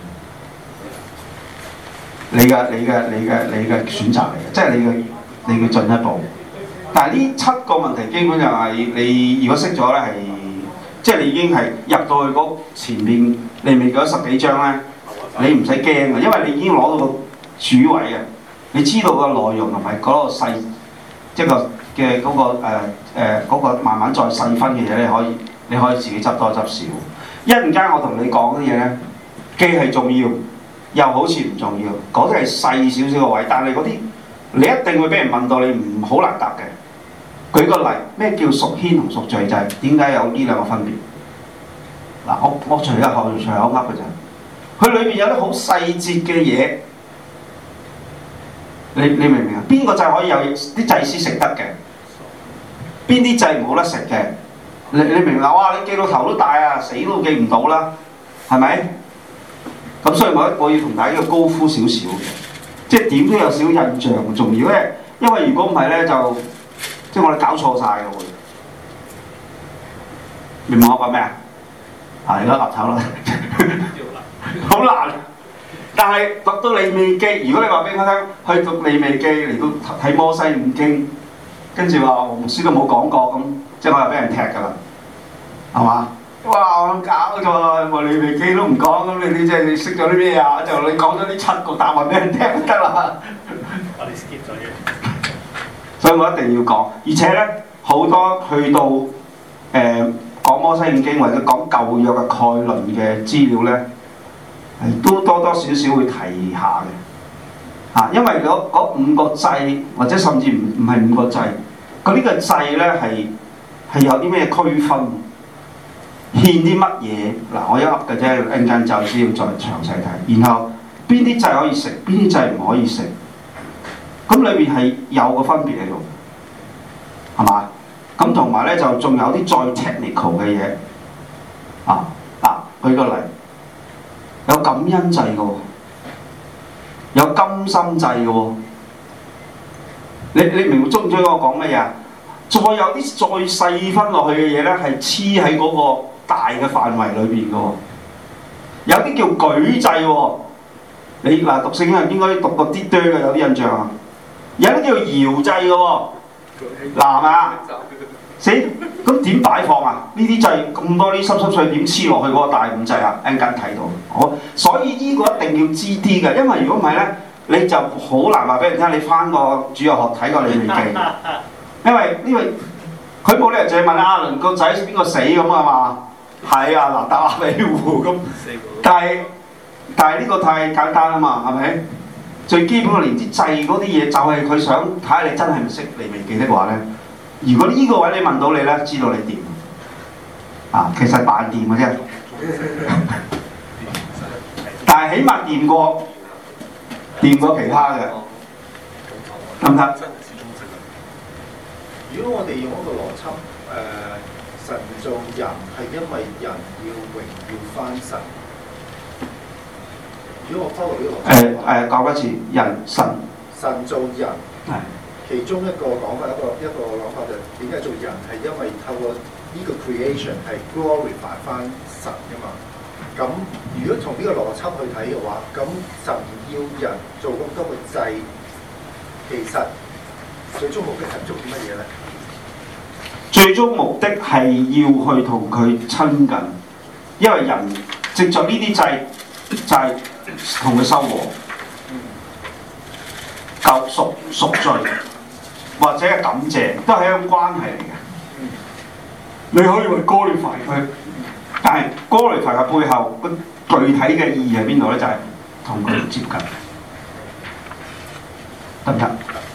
你嘅你嘅你嘅你嘅選擇嚟嘅，即係你嘅你嘅進一步。但係呢七個問題基本上係你如果識咗咧，係即係你已經係入到去嗰前面利未記嗰十幾章咧，你唔使驚嘅，因為你已經攞到個主位嘅，你知道個內容同埋嗰個細。即係個嘅嗰個誒誒嗰個慢慢再細分嘅嘢，你可以你可以自己執多執少。一陣間我同你講啲嘢咧，既係重要，又好似唔重要。嗰啲係細少少嘅位，但係嗰啲你一定會俾人問到，你唔好難答嘅。舉個例，咩叫屬牽同屬罪？就係點解有呢兩個分別？嗱，我我隨口隨口噏嘅啫。佢裏邊有啲好細節嘅嘢。你你明唔明啊？邊個祭可以有啲祭司食得嘅？邊啲祭冇得食嘅？你你明唔明啊？哇！你記到頭都大啊，死都記唔到啦，係咪？咁所以我我要同大家要高呼少少嘅，即係點都有少少印象重要咧。因為如果唔係咧，就即係我哋搞錯晒嘅會。 明唔明我講咩啊？係而家岌頭啦，好難。但係讀到利未記，如果你話俾我聽，去讀利未記嚟到睇摩西五經，跟住話黃牧師都冇講過咁，即係我又俾人踢㗎啦，係嘛？哇！我搞錯，我利未記都唔講，咁你你即係你識咗啲咩啊？就你講咗啲七個答案俾人聽就得啦。 我哋 skip 咗嘅。 所以我一定要講，而且咧好多去到誒、呃、講摩西五經或者講舊約嘅概論嘅資料咧，係都多多少少會提下嘅嚇、啊，因為嗰嗰五個祭或者甚至唔唔係五個祭，佢呢個祭咧係係有啲咩區分，獻啲乜嘢嗱？我一噏嘅啫，陣間就先要再詳細睇，然後邊啲祭可以食，邊啲祭唔可以食。咁裏邊係有個分別喺度，係嘛？咁同埋咧就仲有啲再 technical 嘅嘢啊！嗱，舉個例，有感恩祭嘅喎，有甘心祭嘅喎。你你明唔中唔中意我講乜嘢啊？再有啲再細分落去嘅嘢咧，係黐喺嗰個大嘅範圍裏邊嘅喎。有啲叫舉祭喎，你嗱讀聖經係應該讀過啲多嘅，有啲印象啊。有啲叫搖祭嘅喎，嗱係咪啊？死咁點擺放啊？呢啲祭咁多啲濕濕碎點黐落去嗰個大五祭啊？一陣間睇到，我所以呢個一定要知啲嘅，因為如果唔係咧，你就好難話俾人聽。你翻個主日學睇過利未記，因為因為佢冇理由淨係問亞倫個仔邊個死咁啊嘛？係啊，嗱答亞比戶咁，但係但係呢個太簡單啊嘛，係咪？最基本嘅連啲祭嗰啲嘢，就係佢想睇下你真係唔識利未記的話咧。如果呢個位你問到你咧，知道你掂啊，其實扮掂嘅啫。但係起碼掂過掂過其他嘅，得唔得？ 如果我哋用一個邏輯，誒、呃、神造人係因為人要榮耀翻神。如果我 follow 呢個邏輯，誒誒講多次，人神神造人係其中一個講法，一個一個諗法就點解做人係因為透過呢個 creation 係 glorify 翻神㗎嘛？咁如果從呢個邏輯去睇嘅話，咁神要人做咁多個祭，其實最終目的係做啲乜嘢咧？ 最終目的係要去同佢親近，因為人藉著呢啲祭就係同佢修和、救贖、贖罪，或者係感謝，都係一種關係嚟嘅。你可以話 glorify 佢，但係 glorify 嘅背後個具體嘅意義喺邊度咧？就係同佢接近，得唔得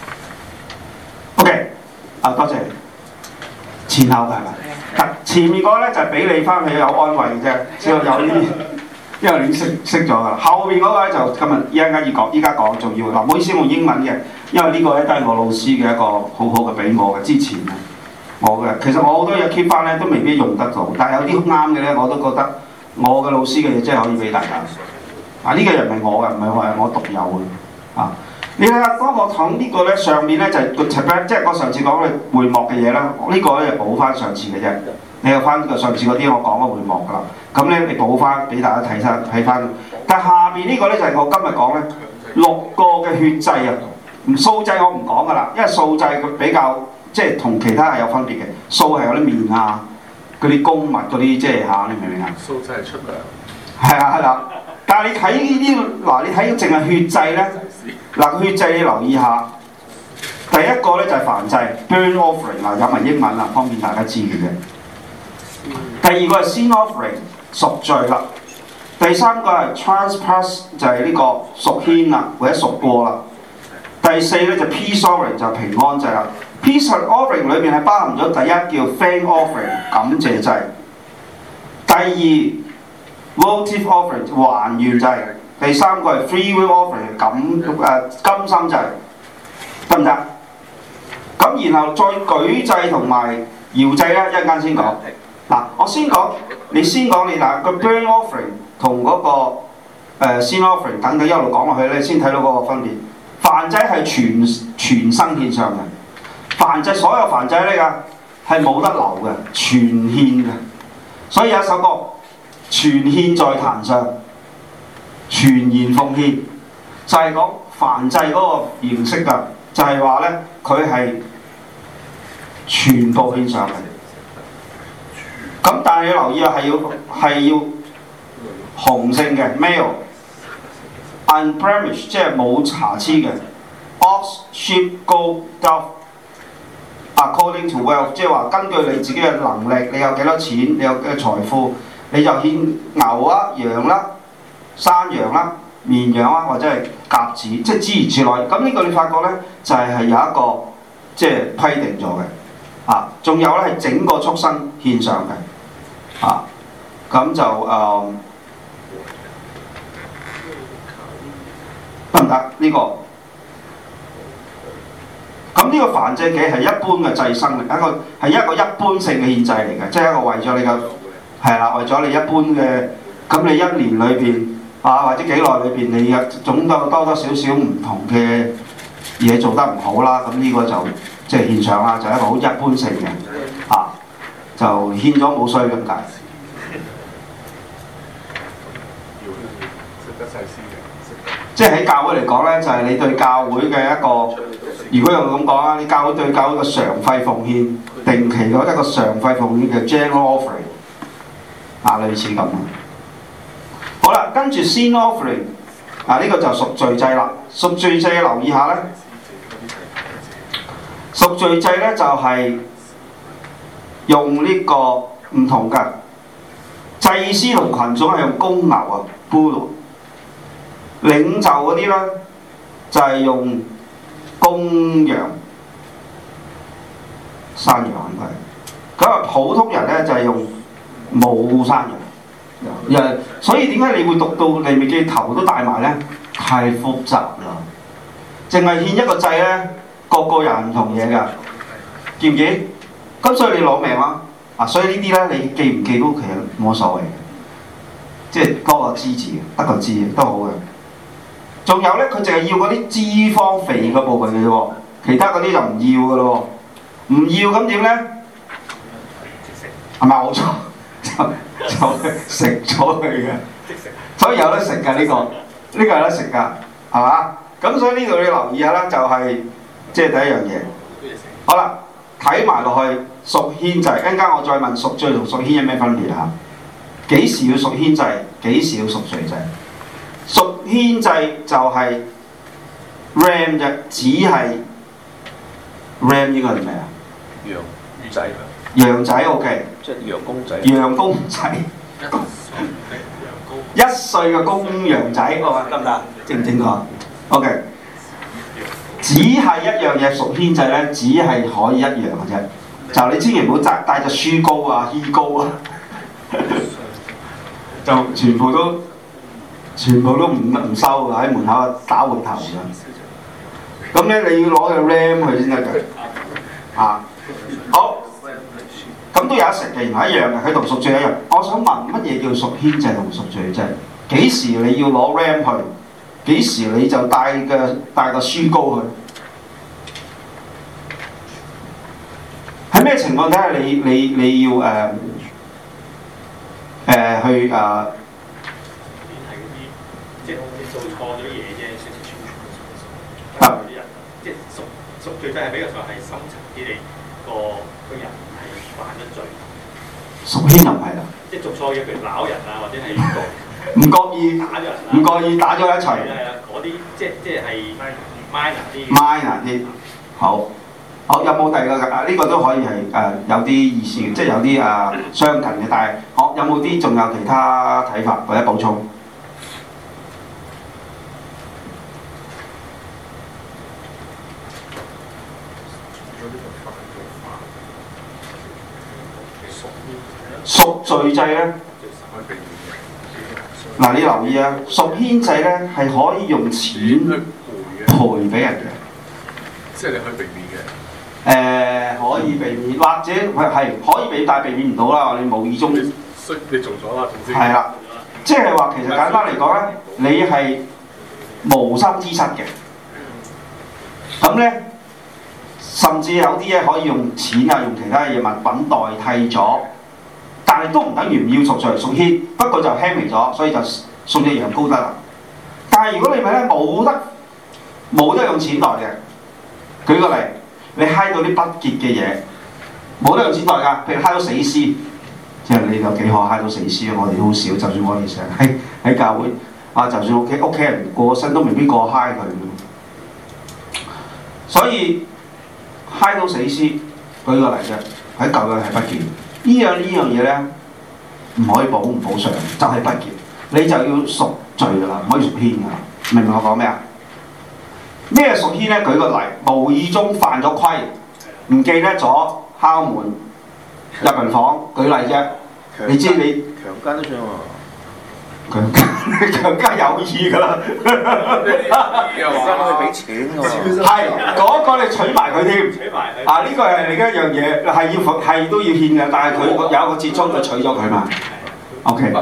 ？OK， 啊多謝。前後嘅係咪？前面嗰個咧就係俾你翻去有安慰嘅啫，只有有呢啲，因為你識識咗㗎啦。後面嗰個咧就今日依家要講，依家講仲要嗱，唔好意思用英文嘅，因為呢個咧都係我老師嘅一個好好嘅俾我嘅。之前啊，我嘅其實我好多嘢 keep 翻咧都未必用得到，但係有啲啱嘅咧我都覺得我嘅老師嘅嘢真係可以俾大家。啊，呢個人唔係我嘅，唔係話我獨有嘅啊。你睇下，當我講呢個咧，上面咧就係個 tab， 即係我上次講嘅會幕嘅嘢啦。呢、這個咧就補翻上次嘅啫。你有翻個上次嗰啲我講嘅會幕㗎啦。咁咧你補翻俾大家睇翻睇翻。但係下邊呢個咧就係我今日講咧六個嘅血祭啊。唔素祭我唔講㗎啦，因為素祭佢比較即係同其他係有分別嘅。素係有啲麵啊，嗰啲公物嗰啲即係嚇，你明唔明啊？ 素祭係出糧。 係啊係啦。但係你睇呢啲嗱，你睇淨係血祭咧。嗱，血祭你留意下，第一個咧就係燔祭 burnt offering 嗱，有埋英文啦，方便大家知嘅啫。第二個係 sin offering 贖罪啦，第三個係 trespass 就係呢個贖愆啦，或者贖過啦。第四咧就 peace offering 就係平安祭啦。peace offering 裏邊係包含咗第一叫 thank offering 感謝祭，第二 votive offering 還願祭。第三個係 free will offering 感誒甘心祭，得唔得？咁然後再舉祭同埋搖祭咧，一陣間先講。嗱，我先講，你先講你嗱個 burnt offering 同嗰、那個誒 sin offering 等等一路講落去咧，先睇到嗰個分別。燔祭係全全生獻上嘅，燔祭所有燔祭呢個係冇得留嘅，全獻嘅。 所以有一首歌全獻在壇上，全然奉獻，就係講燔祭嗰個形式㗎，就係話咧佢係全部獻上嘅。咁但係你留意啊，係要係要雄性嘅 male，unblemished 即係冇瑕疵嘅 ，ox sheep goat dove。According to wealth， 即係話根據你自己嘅能力，你有幾多錢，你有嘅財富，你就獻牛啦、羊啦、山羊啦、綿羊啦，或者係鴿子，即係諸如此類。咁呢個你發覺咧，就係、是、係有一個即係規定咗嘅。啊，仲有咧係整個畜生獻上嘅。啊，咁就誒得唔得呢個？咁呢個燔祭嘅係一般嘅祭牲嚟，一個係一個一般性嘅獻祭嚟嘅，即係一個為咗你嘅係啦，為咗你一般嘅，咁你一年裏邊啊或者幾耐裏邊，你有總有多多少少唔同嘅嘢做得唔好啦，咁呢個就即係獻上啦，就係一個好一般性嘅啊，就獻咗冇衰咁解。即係喺教會嚟講咧，就係、是、你對教會嘅一個，如果用咁講啦，你教會對教會嘅常費奉獻，定期嗰一個常費奉獻嘅 general offering， 啊類似咁。好啦，跟住 sin offering， 啊呢、這個就贖罪祭啦。贖罪祭留意下咧，贖罪祭咧就係、是、用呢個唔同嘅祭司同群眾係用公牛啊 bull。領袖嗰啲咧就係、是、用公羊、山羊應該，咁啊普通人咧就係、是、用冇山羊，所以點解你會讀到利未記頭都帶埋咧？太複雜啦，淨係獻一個祭咧，個個人唔同嘢㗎，記唔記？咁所以你攞命啦，啊所以呢啲咧你記唔記都其實冇所謂嘅，即係多個知字，得個知都好嘅。仲有咧，佢淨係要嗰啲脂肪肥嘅部分嘅啫喎，其他嗰啲就唔要嘅咯喎，唔要咁點咧？係咪冇錯？就就食咗佢嘅，所以有得食㗎呢個，呢、呢個有得食㗎，係嘛？咁所以呢度你留意下啦，就係即係第一樣嘢。好啦，睇埋落去贖愆祭，一陣間我再問贖罪同贖愆有咩分別嚇？幾時要贖愆祭？幾時要贖罪祭？贖愆祭就係 ram 啫，只係 ram 應該係咩啊？ 羊仔， 羊仔 OK， 即係羊公仔。 羊公仔，一歲嘅公羊仔，得唔得？正唔正確 ？OK， 只係一樣嘢贖愆祭咧，只係可以一樣嘅啫。就你千祈唔好帶帶隻書膏啊、衣膏啊，就全部都。全部都唔唔收㗎，喺門口打回頭㗎。咁咧你要攞個 ram 去先得㗎。啊，好，咁都有得食嘅，原來一樣嘅，佢同贖罪一樣。我想問乜嘢叫贖愆祭同贖罪祭？幾時你要攞 ram 去？幾時你就帶個帶個書膏去？喺咩情況底下你你你要誒誒、呃呃、去誒？呃即係做錯咗嘢啫，少少串串錯錯。有啲人即係贖贖罪祭係比較上係深層啲，你個個人係犯咗罪。 贖愆就唔係啦， 即係做錯嘢，譬如鬧人啊，或者係唔覺意打咗人啊， 唔覺意打咗一錘。 係啊，嗰啲即係即係係 minor 啲。 minor 啲，好，好有冇第二個㗎？啊呢、這個都可以係誒、呃、有啲意思嘅，即係有啲啊相近嘅，但係好有冇啲仲有其他睇法或者補充？贖罪祭咧，嗱你留意啊，贖愆祭咧係可以用錢賠俾人嘅， 即係你可以避免嘅。 誒、呃、可以避免，或者係可以避，但係避免唔到啦。你無意中， 你你做咗啦，總之係啦，即係話其實簡單嚟講咧，你係無心之失嘅。咁咧，甚至有啲嘢可以用錢啊，用其他嘢物品代替咗。但係係都唔等於唔要贖罪贖愆，不過就輕微咗，所以就送隻羊羔得啦。但係如果你咪咧冇得冇得用錢袋嘅，舉個例，你揩到啲不潔嘅嘢，冇得用錢袋㗎，譬如揩到死屍，即係你有幾可揩到死屍啊？我哋都好少，就算我哋成日喺喺教會啊，就算屋企屋企人過身都未必過揩佢。所以揩到死屍，舉個例啫，喺舊約係不潔。呢樣呢樣嘢咧，唔可以補唔補償，就係、是、不潔。你就要贖罪㗎啦，唔可以贖愆㗎啦。明唔明我講咩啊？咩贖愆咧？舉個例，無意中犯咗規，唔記得咗敲門入人房，舉例啫。你知你強姦都算喎。 強姦強姦有意㗎啦。 又話俾錢喎。 係嗰個你娶埋佢添。 取埋佢。 啊！呢、這個係另一樣嘢，係要係都要獻嘅，但係佢有一個折衷，佢娶咗佢嘛。OK。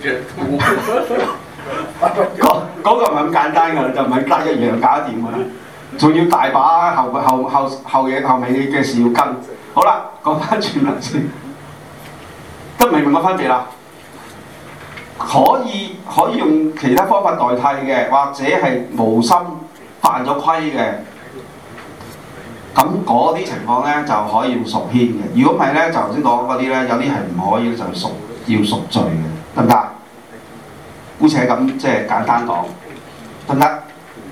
嗰嗰個唔係咁簡單㗎，就唔係得一樣搞得掂㗎，仲要大把後後後後嘢後尾嘅事要跟。好啦，講翻轉嚟先，得明唔明個分別啦？可以可以用其他方法代替嘅，或者係無心犯咗規嘅，咁嗰啲情況咧就可以用贖愆嘅。如果唔係咧，就頭先講嗰啲咧，有啲係唔可以就贖要贖罪嘅，得唔得？姑且咁即係簡單講，得唔得？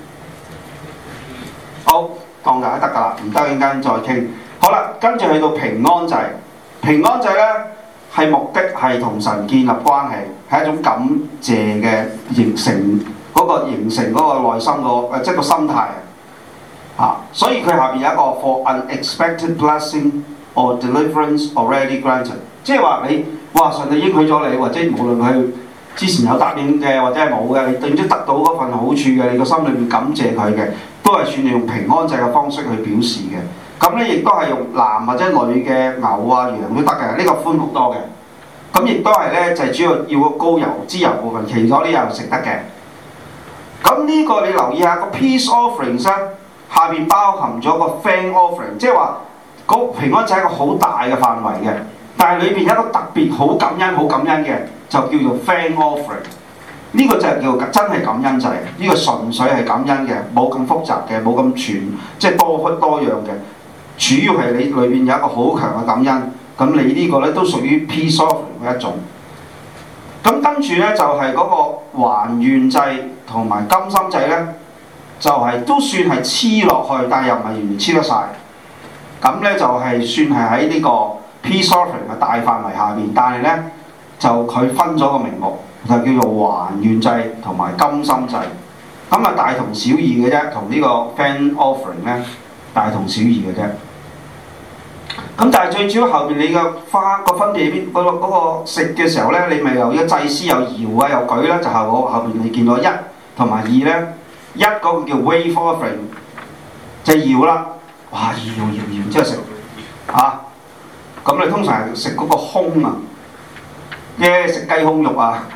好，當大家得㗎啦，唔得陣間再傾。好啦，跟住去到平安祭，平安祭咧係目的係同神建立關係，係一種感謝嘅形成嗰、那個形成嗰個內心個誒即係個心態啊。所以佢下邊有一個 for unexpected blessing or deliverance already granted， 即係話你哇上帝應許咗你，或者無論佢之前有答應嘅或者係冇嘅，你總之得到嗰份好處嘅，你個心裏面感謝佢嘅，都係算用平安祭嘅方式去表示嘅。咁咧亦都係用男或者女嘅牛啊羊都得嘅，呢、這個寬好多嘅。咁亦都係咧就係、是、主要要個膏油脂油部分，其他啲又食得嘅。咁呢個你留意下個 peace offerings 咧，下邊包含咗個 thank offering， 即係話嗰平安祭係一個好大嘅範圍嘅，但係裏邊有一個特別好感恩好感恩嘅，就叫做 thank offering。呢個就係叫真係感恩祭，呢、這個純粹係感恩嘅，冇咁複雜嘅，冇咁全，即係多多樣嘅。主要係你裏邊有一個好強嘅感恩，咁你呢個咧都屬於 peace offering 嘅一種。咁跟住咧就係、是、嗰個還願祭同埋甘心祭咧，就係、是、都算係黐落去，但係又唔係完全黐得晒。咁咧就係、是、算係喺呢個 peace offering 嘅大範圍下邊，但係咧就佢分咗個名目，就叫做還願祭同埋甘心祭。咁啊大同小異嘅啫，同呢個 thank offering 咧大同小異嘅啫。咁但係最主要後邊你嘅花個分別喺邊？嗰、那個嗰、那個食嘅時候咧，你咪有一個祭司有搖啊有舉咧，就係我後邊你見到一同埋二咧，一嗰個叫 wave offering 就搖啦，哇搖搖搖之後食啊！咁你通常係食嗰個胸啊，耶食雞胸肉啊，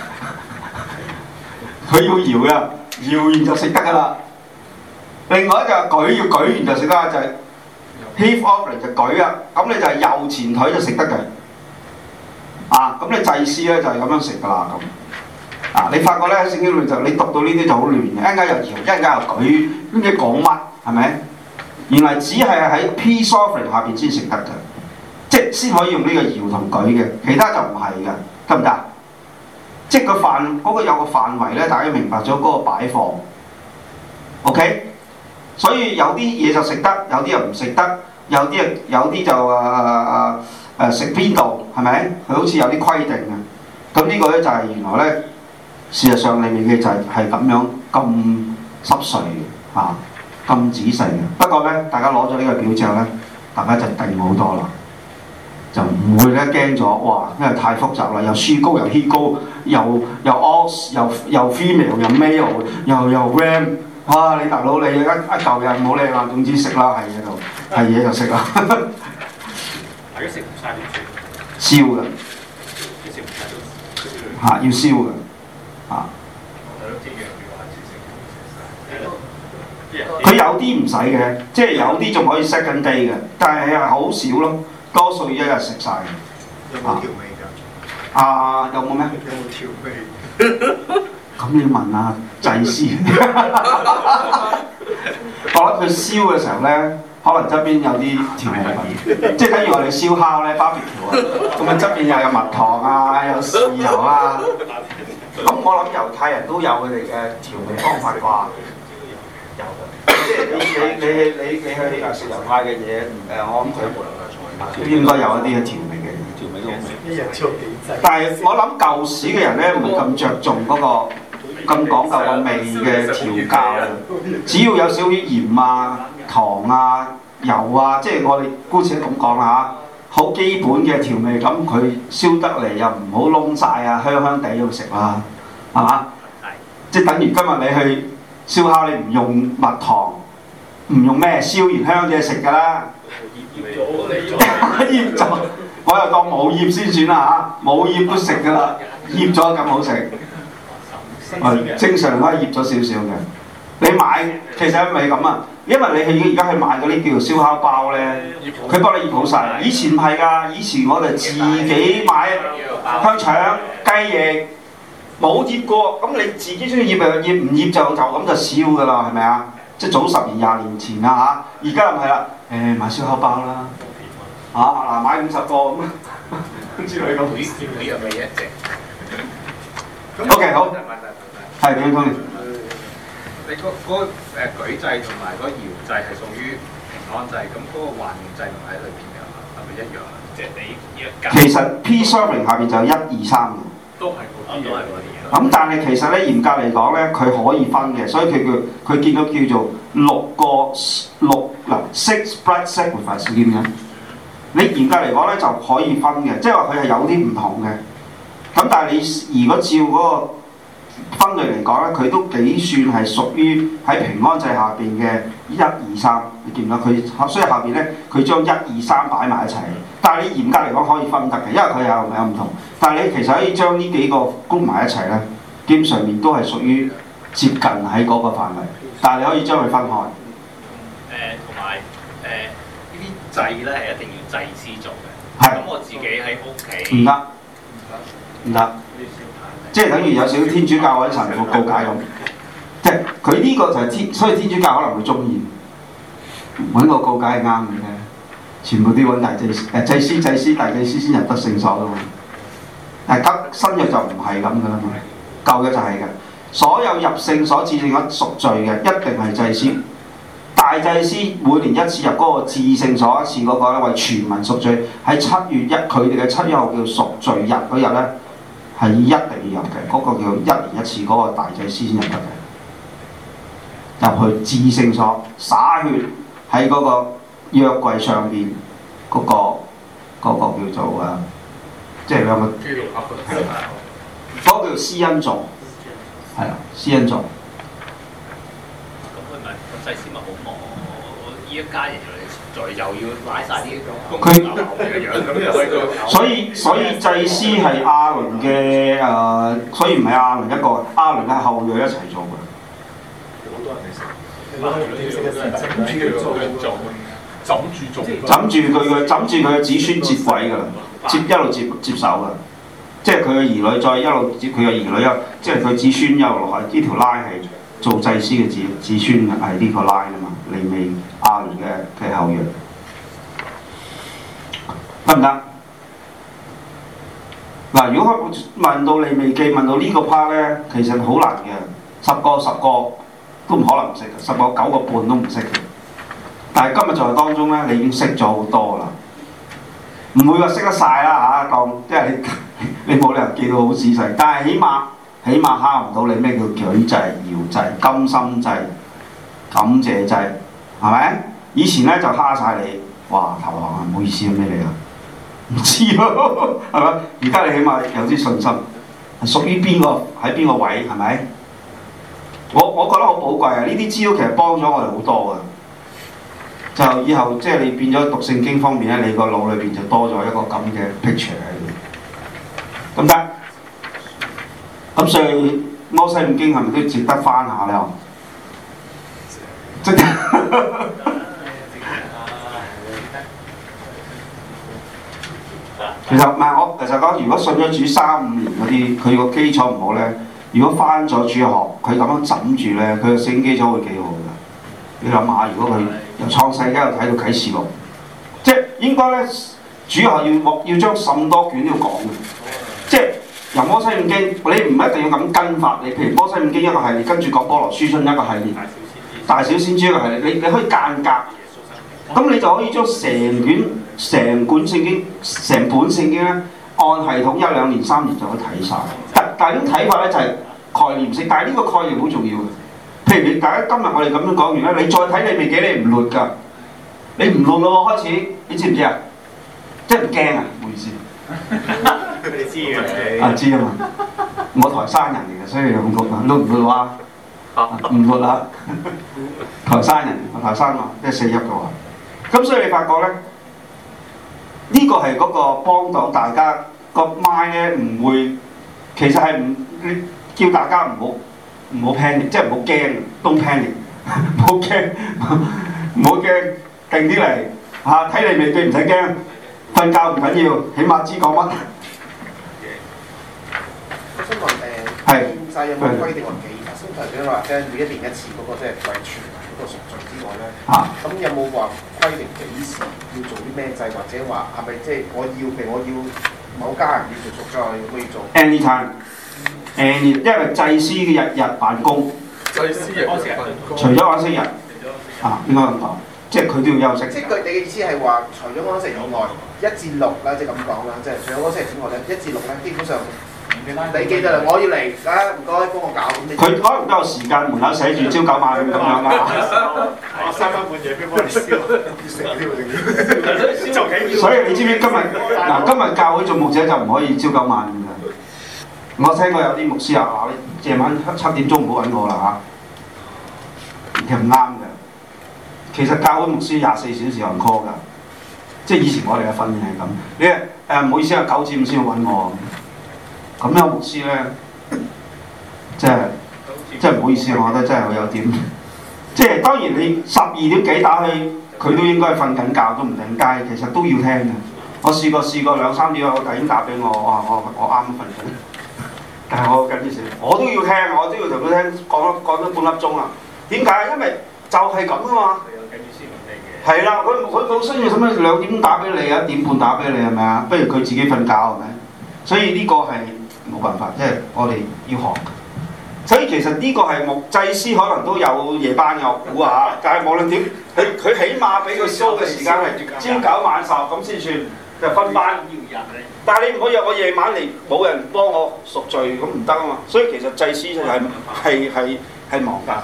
佢要搖嘅，搖完就食得㗎啦。另外一就係舉要舉完就食得，就係、是。Heave offering 就舉啊，咁你就係右前腿就食得嘅，啊，咁你祭司咧就係咁樣食噶啦咁，啊，你發覺咧喺聖經裏就你讀到呢啲就好亂嘅，一陣間又搖，一陣間又舉，唔知講乜係咪？原來只係喺 peace offering 下邊先食得嘅，即係先可以用呢個搖同舉嘅，其他就唔係嘅，得唔得？即係個範嗰、嗰個有個範圍咧，大家明白咗嗰個擺放 ，OK？所以有啲嘢就食得，有啲又唔食得，有啲有啲就誒誒誒食邊度係咪？佢好似有啲規定嘅。咁呢個咧就係原來咧，事實上裡面嘅就係係咁樣咁濕碎嘅嚇，咁、啊、仔細嘅。不過咧，大家攞咗呢個表之後咧，大家就定好多啦，就唔會咧驚咗哇，因為太複雜啦，又書高又 he 高，又又 os 又又 female 又 male 又又 ram。哇！你大佬你一一嚿嘢唔好理啦，總之食啦，係嘢就係嘢就食啦。 大家食唔晒點算？ 燒嘅， 食唔晒都嚇要燒嘅，嚇。 係咯，啲羊要係佢有啲唔使嘅，即係有啲仲可以 second day 嘅，但係係好少咯，多數一日食晒嘅。 有冇調味㗎？ 啊，有冇咩？ 有冇調味？ 咁你要問下祭司。我諗佢燒嘅時候咧，可能側邊有啲調味品，即係等於我哋燒烤咧，barbecue啊，咁啊側邊又有蜜糖啊，有豉油啊。咁我諗猶太人都有佢哋嘅調味方法啩，有嘅。即係你你你你你去誒食猶太嘅嘢，誒我諗佢都應該有一啲嘅調味嘅調味都好味。 一日做幾劑？ 但係我諗舊時嘅人咧，唔係咁着重嗰、個。咁講究個味嘅調教啊，只要有少少鹽啊、糖啊、油啊，即係我哋姑且咁講啦嚇，好基本嘅調味，咁佢燒得嚟又唔好燶晒啊，香香地咁食啦，係嘛？即係等於今日你去燒烤，你唔用蜜糖，唔用咩燒完香嘢食㗎啦，醃咗，我又當冇醃先算啦嚇，冇醃都食㗎啦，醃咗咁好食。誒正常都係醃咗少少嘅。你買其實係咪咁啊？因為你去而家去買嗰啲叫做燒烤包咧，佢幫你醃好晒。以前唔係㗎，以前我哋自己買香腸、雞翼，冇醃過。咁你自己中意醃就醃，唔醃就就咁就燒㗎啦，係咪啊？即係早十年廿年前啊嚇，而家唔係啦。誒買燒烤包啦，嚇嗱買五十個咁之類咁。 每樣味一隻。 O K 好。係點樣？ 你嗰嗰個誒舉祭同埋嗰個搖祭係屬於平安祭，咁嗰個還願祭唔喺裏邊㗎，係咪一樣啊？即係你一間。 其實 P serving 下邊就有一二三嘅。 都係嗰啲，都係嗰啲嘢。 咁但係其實咧嚴格嚟講咧，佢可以分嘅，所以佢叫佢見到叫做六個六嗱 six blood sacrifice 叫咩？你嚴格嚟講咧就可以分嘅，即係話佢係有啲唔同嘅。咁但係你如果照嗰個分類嚟講咧，佢都幾算係屬於喺平安祭下邊嘅一二三，你見唔見佢？所以下邊咧，佢將一二三擺埋一齊。但係你嚴格嚟講可以分得嘅，因為佢有有唔同。但係你其實可以將呢幾個 group 埋一齊咧，基本上面都係屬於接近喺嗰個範圍。但係你可以將佢分開。誒， 同埋誒呢啲祭咧係一定要祭司做嘅。 係。 咁我自己喺屋企。 唔得，唔得。即係等於有少少天主教或者神父告解咁，即係佢呢個就係天，所以天主教可能會中意揾個告解係啱嘅啫。全部都揾大祭司、誒祭司、祭司、大祭司先入得聖所㗎嘛。但係新約就唔係咁㗎啦嘛，舊嘅就係嘅。所有入聖所至聖所贖罪嘅一定係祭司，大祭司每年一次入嗰個至聖所一次嗰個咧，為全民贖罪。喺七月一佢哋嘅七月號叫贖罪日嗰日咧。係一定要入嘅，嗰、那個叫一年一次嗰、那個大祭司先入得嘅，入去至聖所灑血喺嗰個約櫃上邊嗰、那個嗰、那個叫做啊，即係兩個，嗰個叫施恩座，係啊，施恩座。 咁佢咪個祭司咪好忙？我呢一家人嚟再又要拉晒啲公牛嘅樣，咁又可以做。 所以所以祭司係亞倫嘅誒，所以唔係亞倫一個，亞倫嘅後裔一齊做嘅。 好多人嚟食，枕住做，枕住做， 枕住佢嘅枕住佢嘅子孫接位㗎啦，接一路接接手㗎，即係佢嘅兒女再一路接佢嘅兒女啊，即係佢子孫一路落去，呢條拉係做祭司嘅子子孫係呢個拉啊嘛，利未亞倫嘅嘅後裔。得唔得？嗱，如果問到利未記問到呢個 part 咧，其實好難嘅，十個十個都唔可能唔識嘅，十個九個半都唔識嘅。但係今日在當中咧，你已經識咗好多啦，唔會話識得晒啦嚇，當即係你你冇理由記到好仔細，但係起碼起碼蝦唔到你咩叫舉祭、搖祭、甘心祭、感謝祭，係咪？以前咧就蝦晒你，哇頭行啊，唔好意思咩嚟啊？唔知咯，係咪？而家你起碼有啲信心，係屬於邊個喺邊個位，係咪？我我覺得好寶貴啊！呢啲資料其實幫咗我哋好多嘅，就以後即係你變咗讀聖經方面咧，你個腦裏邊就多咗一個咁嘅 picture 喺度，咁得？咁所以摩西五經係咪都值得翻下咧？即係。 其實唔係我其實講，如果信咗主三五年嗰啲，佢個基礎唔好咧，如果翻咗主學，佢咁樣枕住咧，佢個聖經基礎會幾好㗎。你諗下，如果佢由創世記又睇到啟示錄，即係應該咧，主學要要將咁多卷都要講嘅，即係由摩西五經，你唔一定要咁跟法。你譬如摩西五經一個系列，跟住講波羅書信一個系列，大小先知一個系列，你你可以間隔。咁你就可以將成卷、成本聖經、成本聖經咧，按系統一兩年、三年就可以睇晒。但但係呢種睇法咧就係概念性，但係呢個概念好重要嘅。譬如你大家今日我哋咁樣講完咧，你再睇利未記你唔亂㗎，你唔亂咯喎開始，你知唔知啊？即係唔驚啊？唔好意思， 佢哋知嘅。 啊知啊嘛，我台山人嚟嘅，所以咁講啊，亂唔亂話？唔亂啦，台山人，我台山嘛，即係四邑嘅話。咁所以你發覺咧，呢、這個係嗰個幫到大家個 mind 咧，唔會其實係唔叫大家唔好唔好 panic，即係唔好驚，don't panic，唔好驚，唔好驚，定啲嚟嚇睇你未記唔使驚，瞓覺唔緊要，起碼知講乜。 我想問誒， 係現世有冇規定話幾？先頭先話即係每一年一次嗰、那個即係為傳嗰個贖罪之外咧，咁、 啊、 有冇話規定幾時要做啲咩祭，或者話係咪即係我要譬如我要某家人要做贖罪，可以做 anytime，any， 因為祭司嘅日日辦公， 祭司日日辦公， 除咗安息日啊，應該咁講，即係佢都要休息。 即係佢你嘅意思係話，除咗安息以外，一至六啦，即係咁講啦，即係除咗安息日之外咧，一至六咧基本上。你記得啦，我要嚟啊！唔該，幫我搞。 佢可能都有時間，門口寫住朝九晚五咁樣啊。 我三更半夜俾我哋燒，燒就幾所以你知唔知今日嗱？今日教會做牧者就唔可以朝九晚五嘅。我聽過有啲牧師啊話：你夜晚七點鐘唔好揾我啦嚇。其實唔啱嘅。其實教會牧師廿四小時有人 call 㗎，即係以前我哋嘅訓練係咁。你誒唔好意思啊，九至五先要揾我。咁樣牧師咧，即係即係唔好意思，我覺得真係好有點。即係當然你十二點幾打去，佢都應該瞓緊覺都唔定街，其實都要聽嘅。我試過試過兩三點有個弟兄打俾我，我話我我啱瞓緊，但係我緊啲事，我都要聽，我都要同佢聽講咗講咗半粒鐘啊。點解？因為就係咁啊嘛。係啦，佢佢佢需要使乜兩點打俾你啊？一點半打俾你係咪啊？不如佢自己瞓覺係咪？所以呢個係。冇辦法，即係我哋要學。所以其實呢個係牧祭司可能都有夜班嘅，我估下。但係無論點，佢佢起碼俾佢 show 嘅時間係朝九晚十咁先算，就分班。但係你唔可以話我夜晚嚟冇人幫我贖罪咁唔得啊嘛。所以其實祭司就係係係係忙㗎。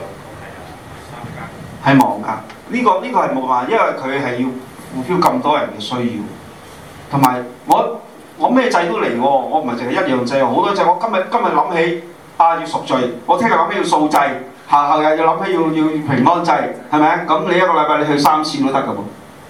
係忙㗎。呢個呢個係冇辦法，因為佢係要 fulfill 咁多人嘅需要，同埋我。我咩祭都嚟喎，我唔係淨係一樣祭，好多祭。我今日今日諗起啊要贖罪，我聽日諗起要素祭，下後日又諗起要要平安祭，係咪？咁你一個禮拜你去三次都得㗎噃。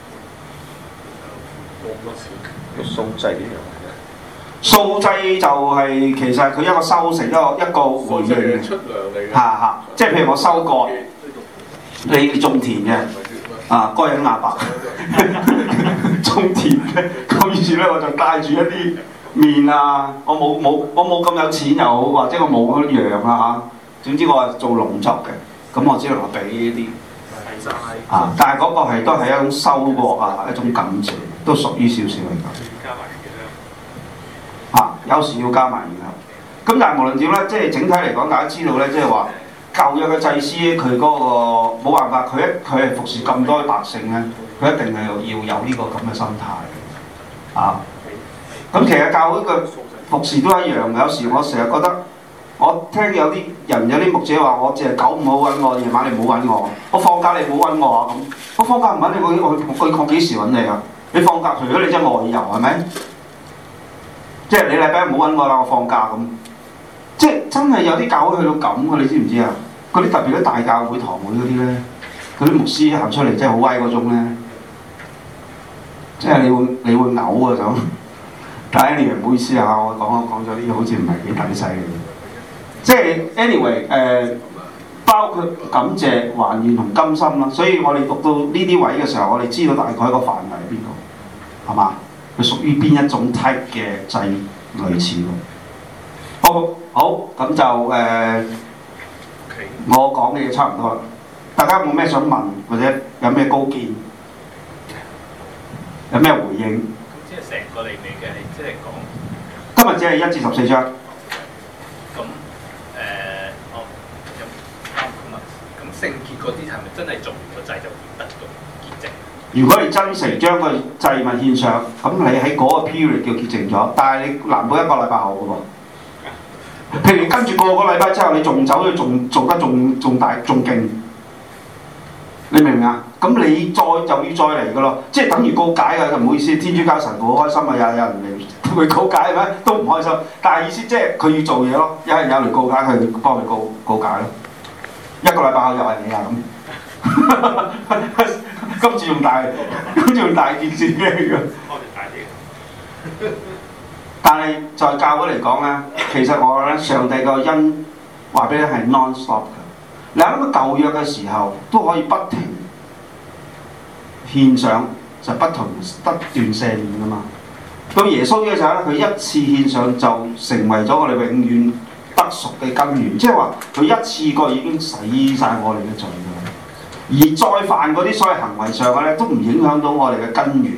素祭呢樣嘢？ 素祭就係、是、其實佢一個收成，一個一個回應嘅。 出糧嚟嘅。 嚇嚇，即係譬如我收割，你種田嘅。啊，該隱亞伯種田嘅，咁於是咧我就帶住一啲麵啊，我冇冇我冇咁有錢又好，或者我冇嗰啲羊啊嚇，總之我係做農作嘅，咁我只能話俾呢啲啊，但係嗰個係都係一種收穫啊，一種感謝，都屬於少少嚟㗎。啊，有時要加埋然後，咁但係無論點咧，即係整體嚟講，大家知道咧，即係話。舊約嘅祭司佢嗰個冇辦法，佢一佢係服侍咁多百姓咧，佢一定係要有呢個咁嘅心態啊！咁其實教會嘅服侍都一樣，有時我成日覺得，我聽有啲人有啲牧者話，我淨係九唔好揾我，夜晚你唔好揾我，我放假你唔好揾我啊咁，我放假唔揾你，我我我我幾時揾你啊？你放假除咗你真係外遊係咪？即係你禮拜唔好揾我啦，我放假咁。即係真係有啲教會去到咁嘅，你知唔知啊？嗰啲特別啲大教會堂會嗰啲咧，嗰啲牧師行出嚟真係好威嗰種咧，即係你會你會嘔啊咁。但係 anyway 唔好意思啊，我講我講咗啲好似唔係幾抵死嘅。即係 anyway 誒、呃，包括感謝、還願同甘心啦。所以我哋讀到呢啲位嘅時候，我哋知道大概個範圍喺邊度，係嘛？ 佢屬於邊一種 type 嘅祭類似咯。好，好咁就誒、呃，我講嘅嘢差唔多啦。大家有冇咩想問，或者有咩高見，有咩回應？ 咁即係成個利未嘅，即係講今日只係一至十四章。 咁誒，哦，咁咁啊，咁聖潔嗰啲係咪真係做完個祭就得到潔淨？ 如果你真誠將個祭物獻上，咁你喺嗰個 period 叫潔淨咗，但係你難保一個禮拜後嘅喎。譬如你跟住個個禮拜之後，你仲走咗，仲做得仲仲大仲勁，你明唔明啊？咁你再就要再嚟嘅咯，即係等於告解嘅，唔好意思，天主教神父好開心啊，有有人嚟佢告解係咪？都唔開心，但係意思即係佢要做嘢咯，有人有嚟告解佢，幫佢告告解咯。一個禮拜後又係你啊咁，今次仲大，今次仲大件事嘅。但係在教會嚟講咧，其實我咧上帝個恩話俾你係 non-stop 嘅。你諗到舊約嘅時候都可以不停獻上，就不同不斷赦免㗎嘛。到耶穌嘅時候咧，佢一次獻上就成為咗我哋永遠得贖嘅根源，即係話佢一次過已經洗晒我哋嘅罪㗎啦。而再犯嗰啲所謂行為上嘅咧，都唔影響到我哋嘅根源。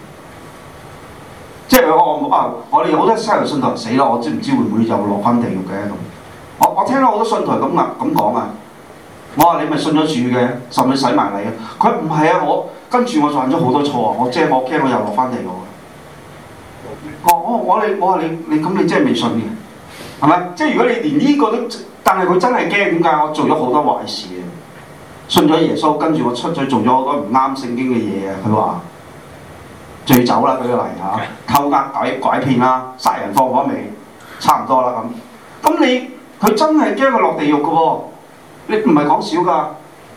即係我我啊！我哋好多西人信徒死咯，我知唔知會唔會又落翻地獄嘅咁？我我聽到好多信徒咁啊咁講啊！我話你咪信咗主嘅，甚至洗埋你啊！佢唔係啊！我跟住我犯咗好多錯啊！我即係我驚我又落翻地獄啊！我我我你我話你你咁你真係未信嘅係咪？即係如果你連呢個都，但係佢真係驚點解？我做咗好多壞事啊！信咗耶穌，跟住我出咗做咗好多唔啱聖經嘅嘢啊！佢話。醉酒啦，舉個例嚇，偷呃拐拐騙啦，殺人放火未，差唔多啦咁。咁你佢真係驚佢落地獄嘅喎，你唔係講少㗎，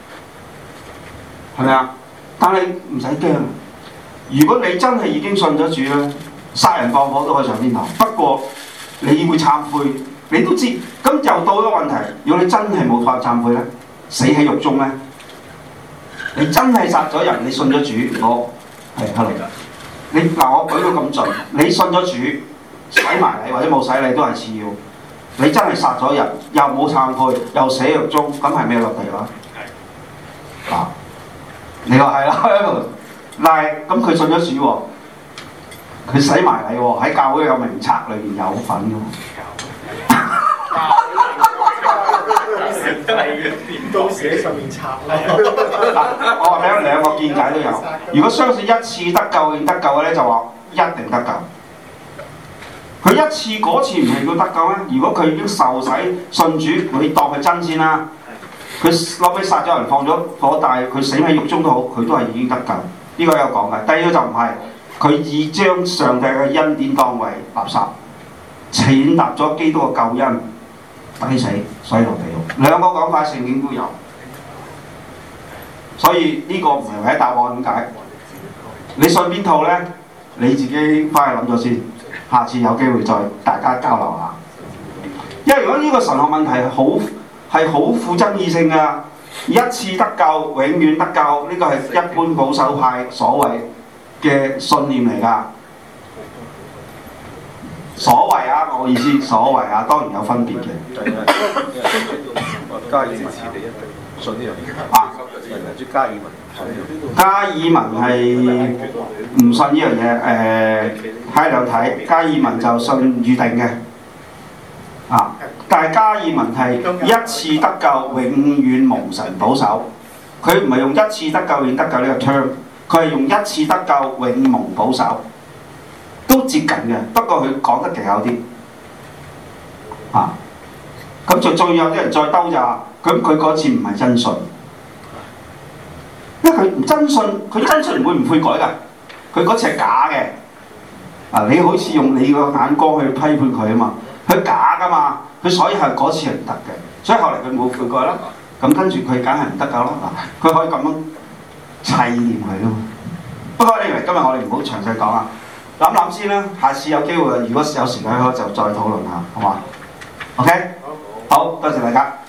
係咪啊？但係唔使驚，如果你真係已經信咗主咧，殺人放火都可以上天堂。不過你會懺悔，你都知。咁又到咗問題，如果你真係冇法懺悔咧，死喺獄中咧，你真係殺咗人，你信咗主，我係hello。你嗱，我舉到咁盡，你信咗主，洗埋你或者冇洗你都係次要。你真係殺咗人，又冇懺悔，又死獄中，咁係咩落地啦？係。嗱，你話係啦，但係咁佢信咗主喎，佢洗埋你喎，喺教會有名冊裏邊有份㗎嘛。 到時喺上面拆啦。 我話俾你兩個見解都有。如果相信一次得救應得救嘅咧，就話一定得救。佢一次嗰次唔係叫得救咩？如果佢已經受洗信主，你當佢真先啦。佢後尾殺咗人放咗火，但係佢死喺獄中都好，佢都係已經得救。呢、這個有講嘅。第二個就唔係，佢已將上帝嘅恩典當為垃圾，踐踏咗基督嘅救恩。抵死，所以落地獄。兩個講法，聖經都有，所以呢個唔係唯一答案。點解？你信邊套咧？你自己翻去諗咗先，下次有機會再大家交流下。因為如果呢個神學問題好係好富爭議性㗎，一次得救，永遠得救，呢個係一般保守派所謂嘅信念嚟㗎。所謂啊，我意思所謂啊，當然有分別嘅。 加爾支持你一定信呢樣嘢。啊，係加爾文。 加爾文係唔信呢樣嘢，誒睇兩睇。加爾文就信預定嘅，啊，但係加爾文係一次得救，永遠蒙神保守。佢唔係用一次得救，永得救呢個 term， 佢係用一次得救，永蒙保守。都接近嘅，不過佢講得技巧啲，啊，咁就再有啲人再兜就話，咁佢嗰次唔係真信，因為佢唔真信，佢真信唔會唔悔改㗎，佢嗰次係假嘅，啊，你好似用你個眼光去批判佢啊嘛，佢假㗎嘛，佢所以係嗰次係唔得嘅，所以後嚟佢冇悔改啦，咁跟住佢梗係唔得㗎啦，嗱，佢可以咁樣砌掂佢啊嘛，不過你嚟今日我哋唔好詳細講啊。諗諗先啦，下次有機會，如果有時間就再討論下，好嘛 ？OK，好，多謝大家。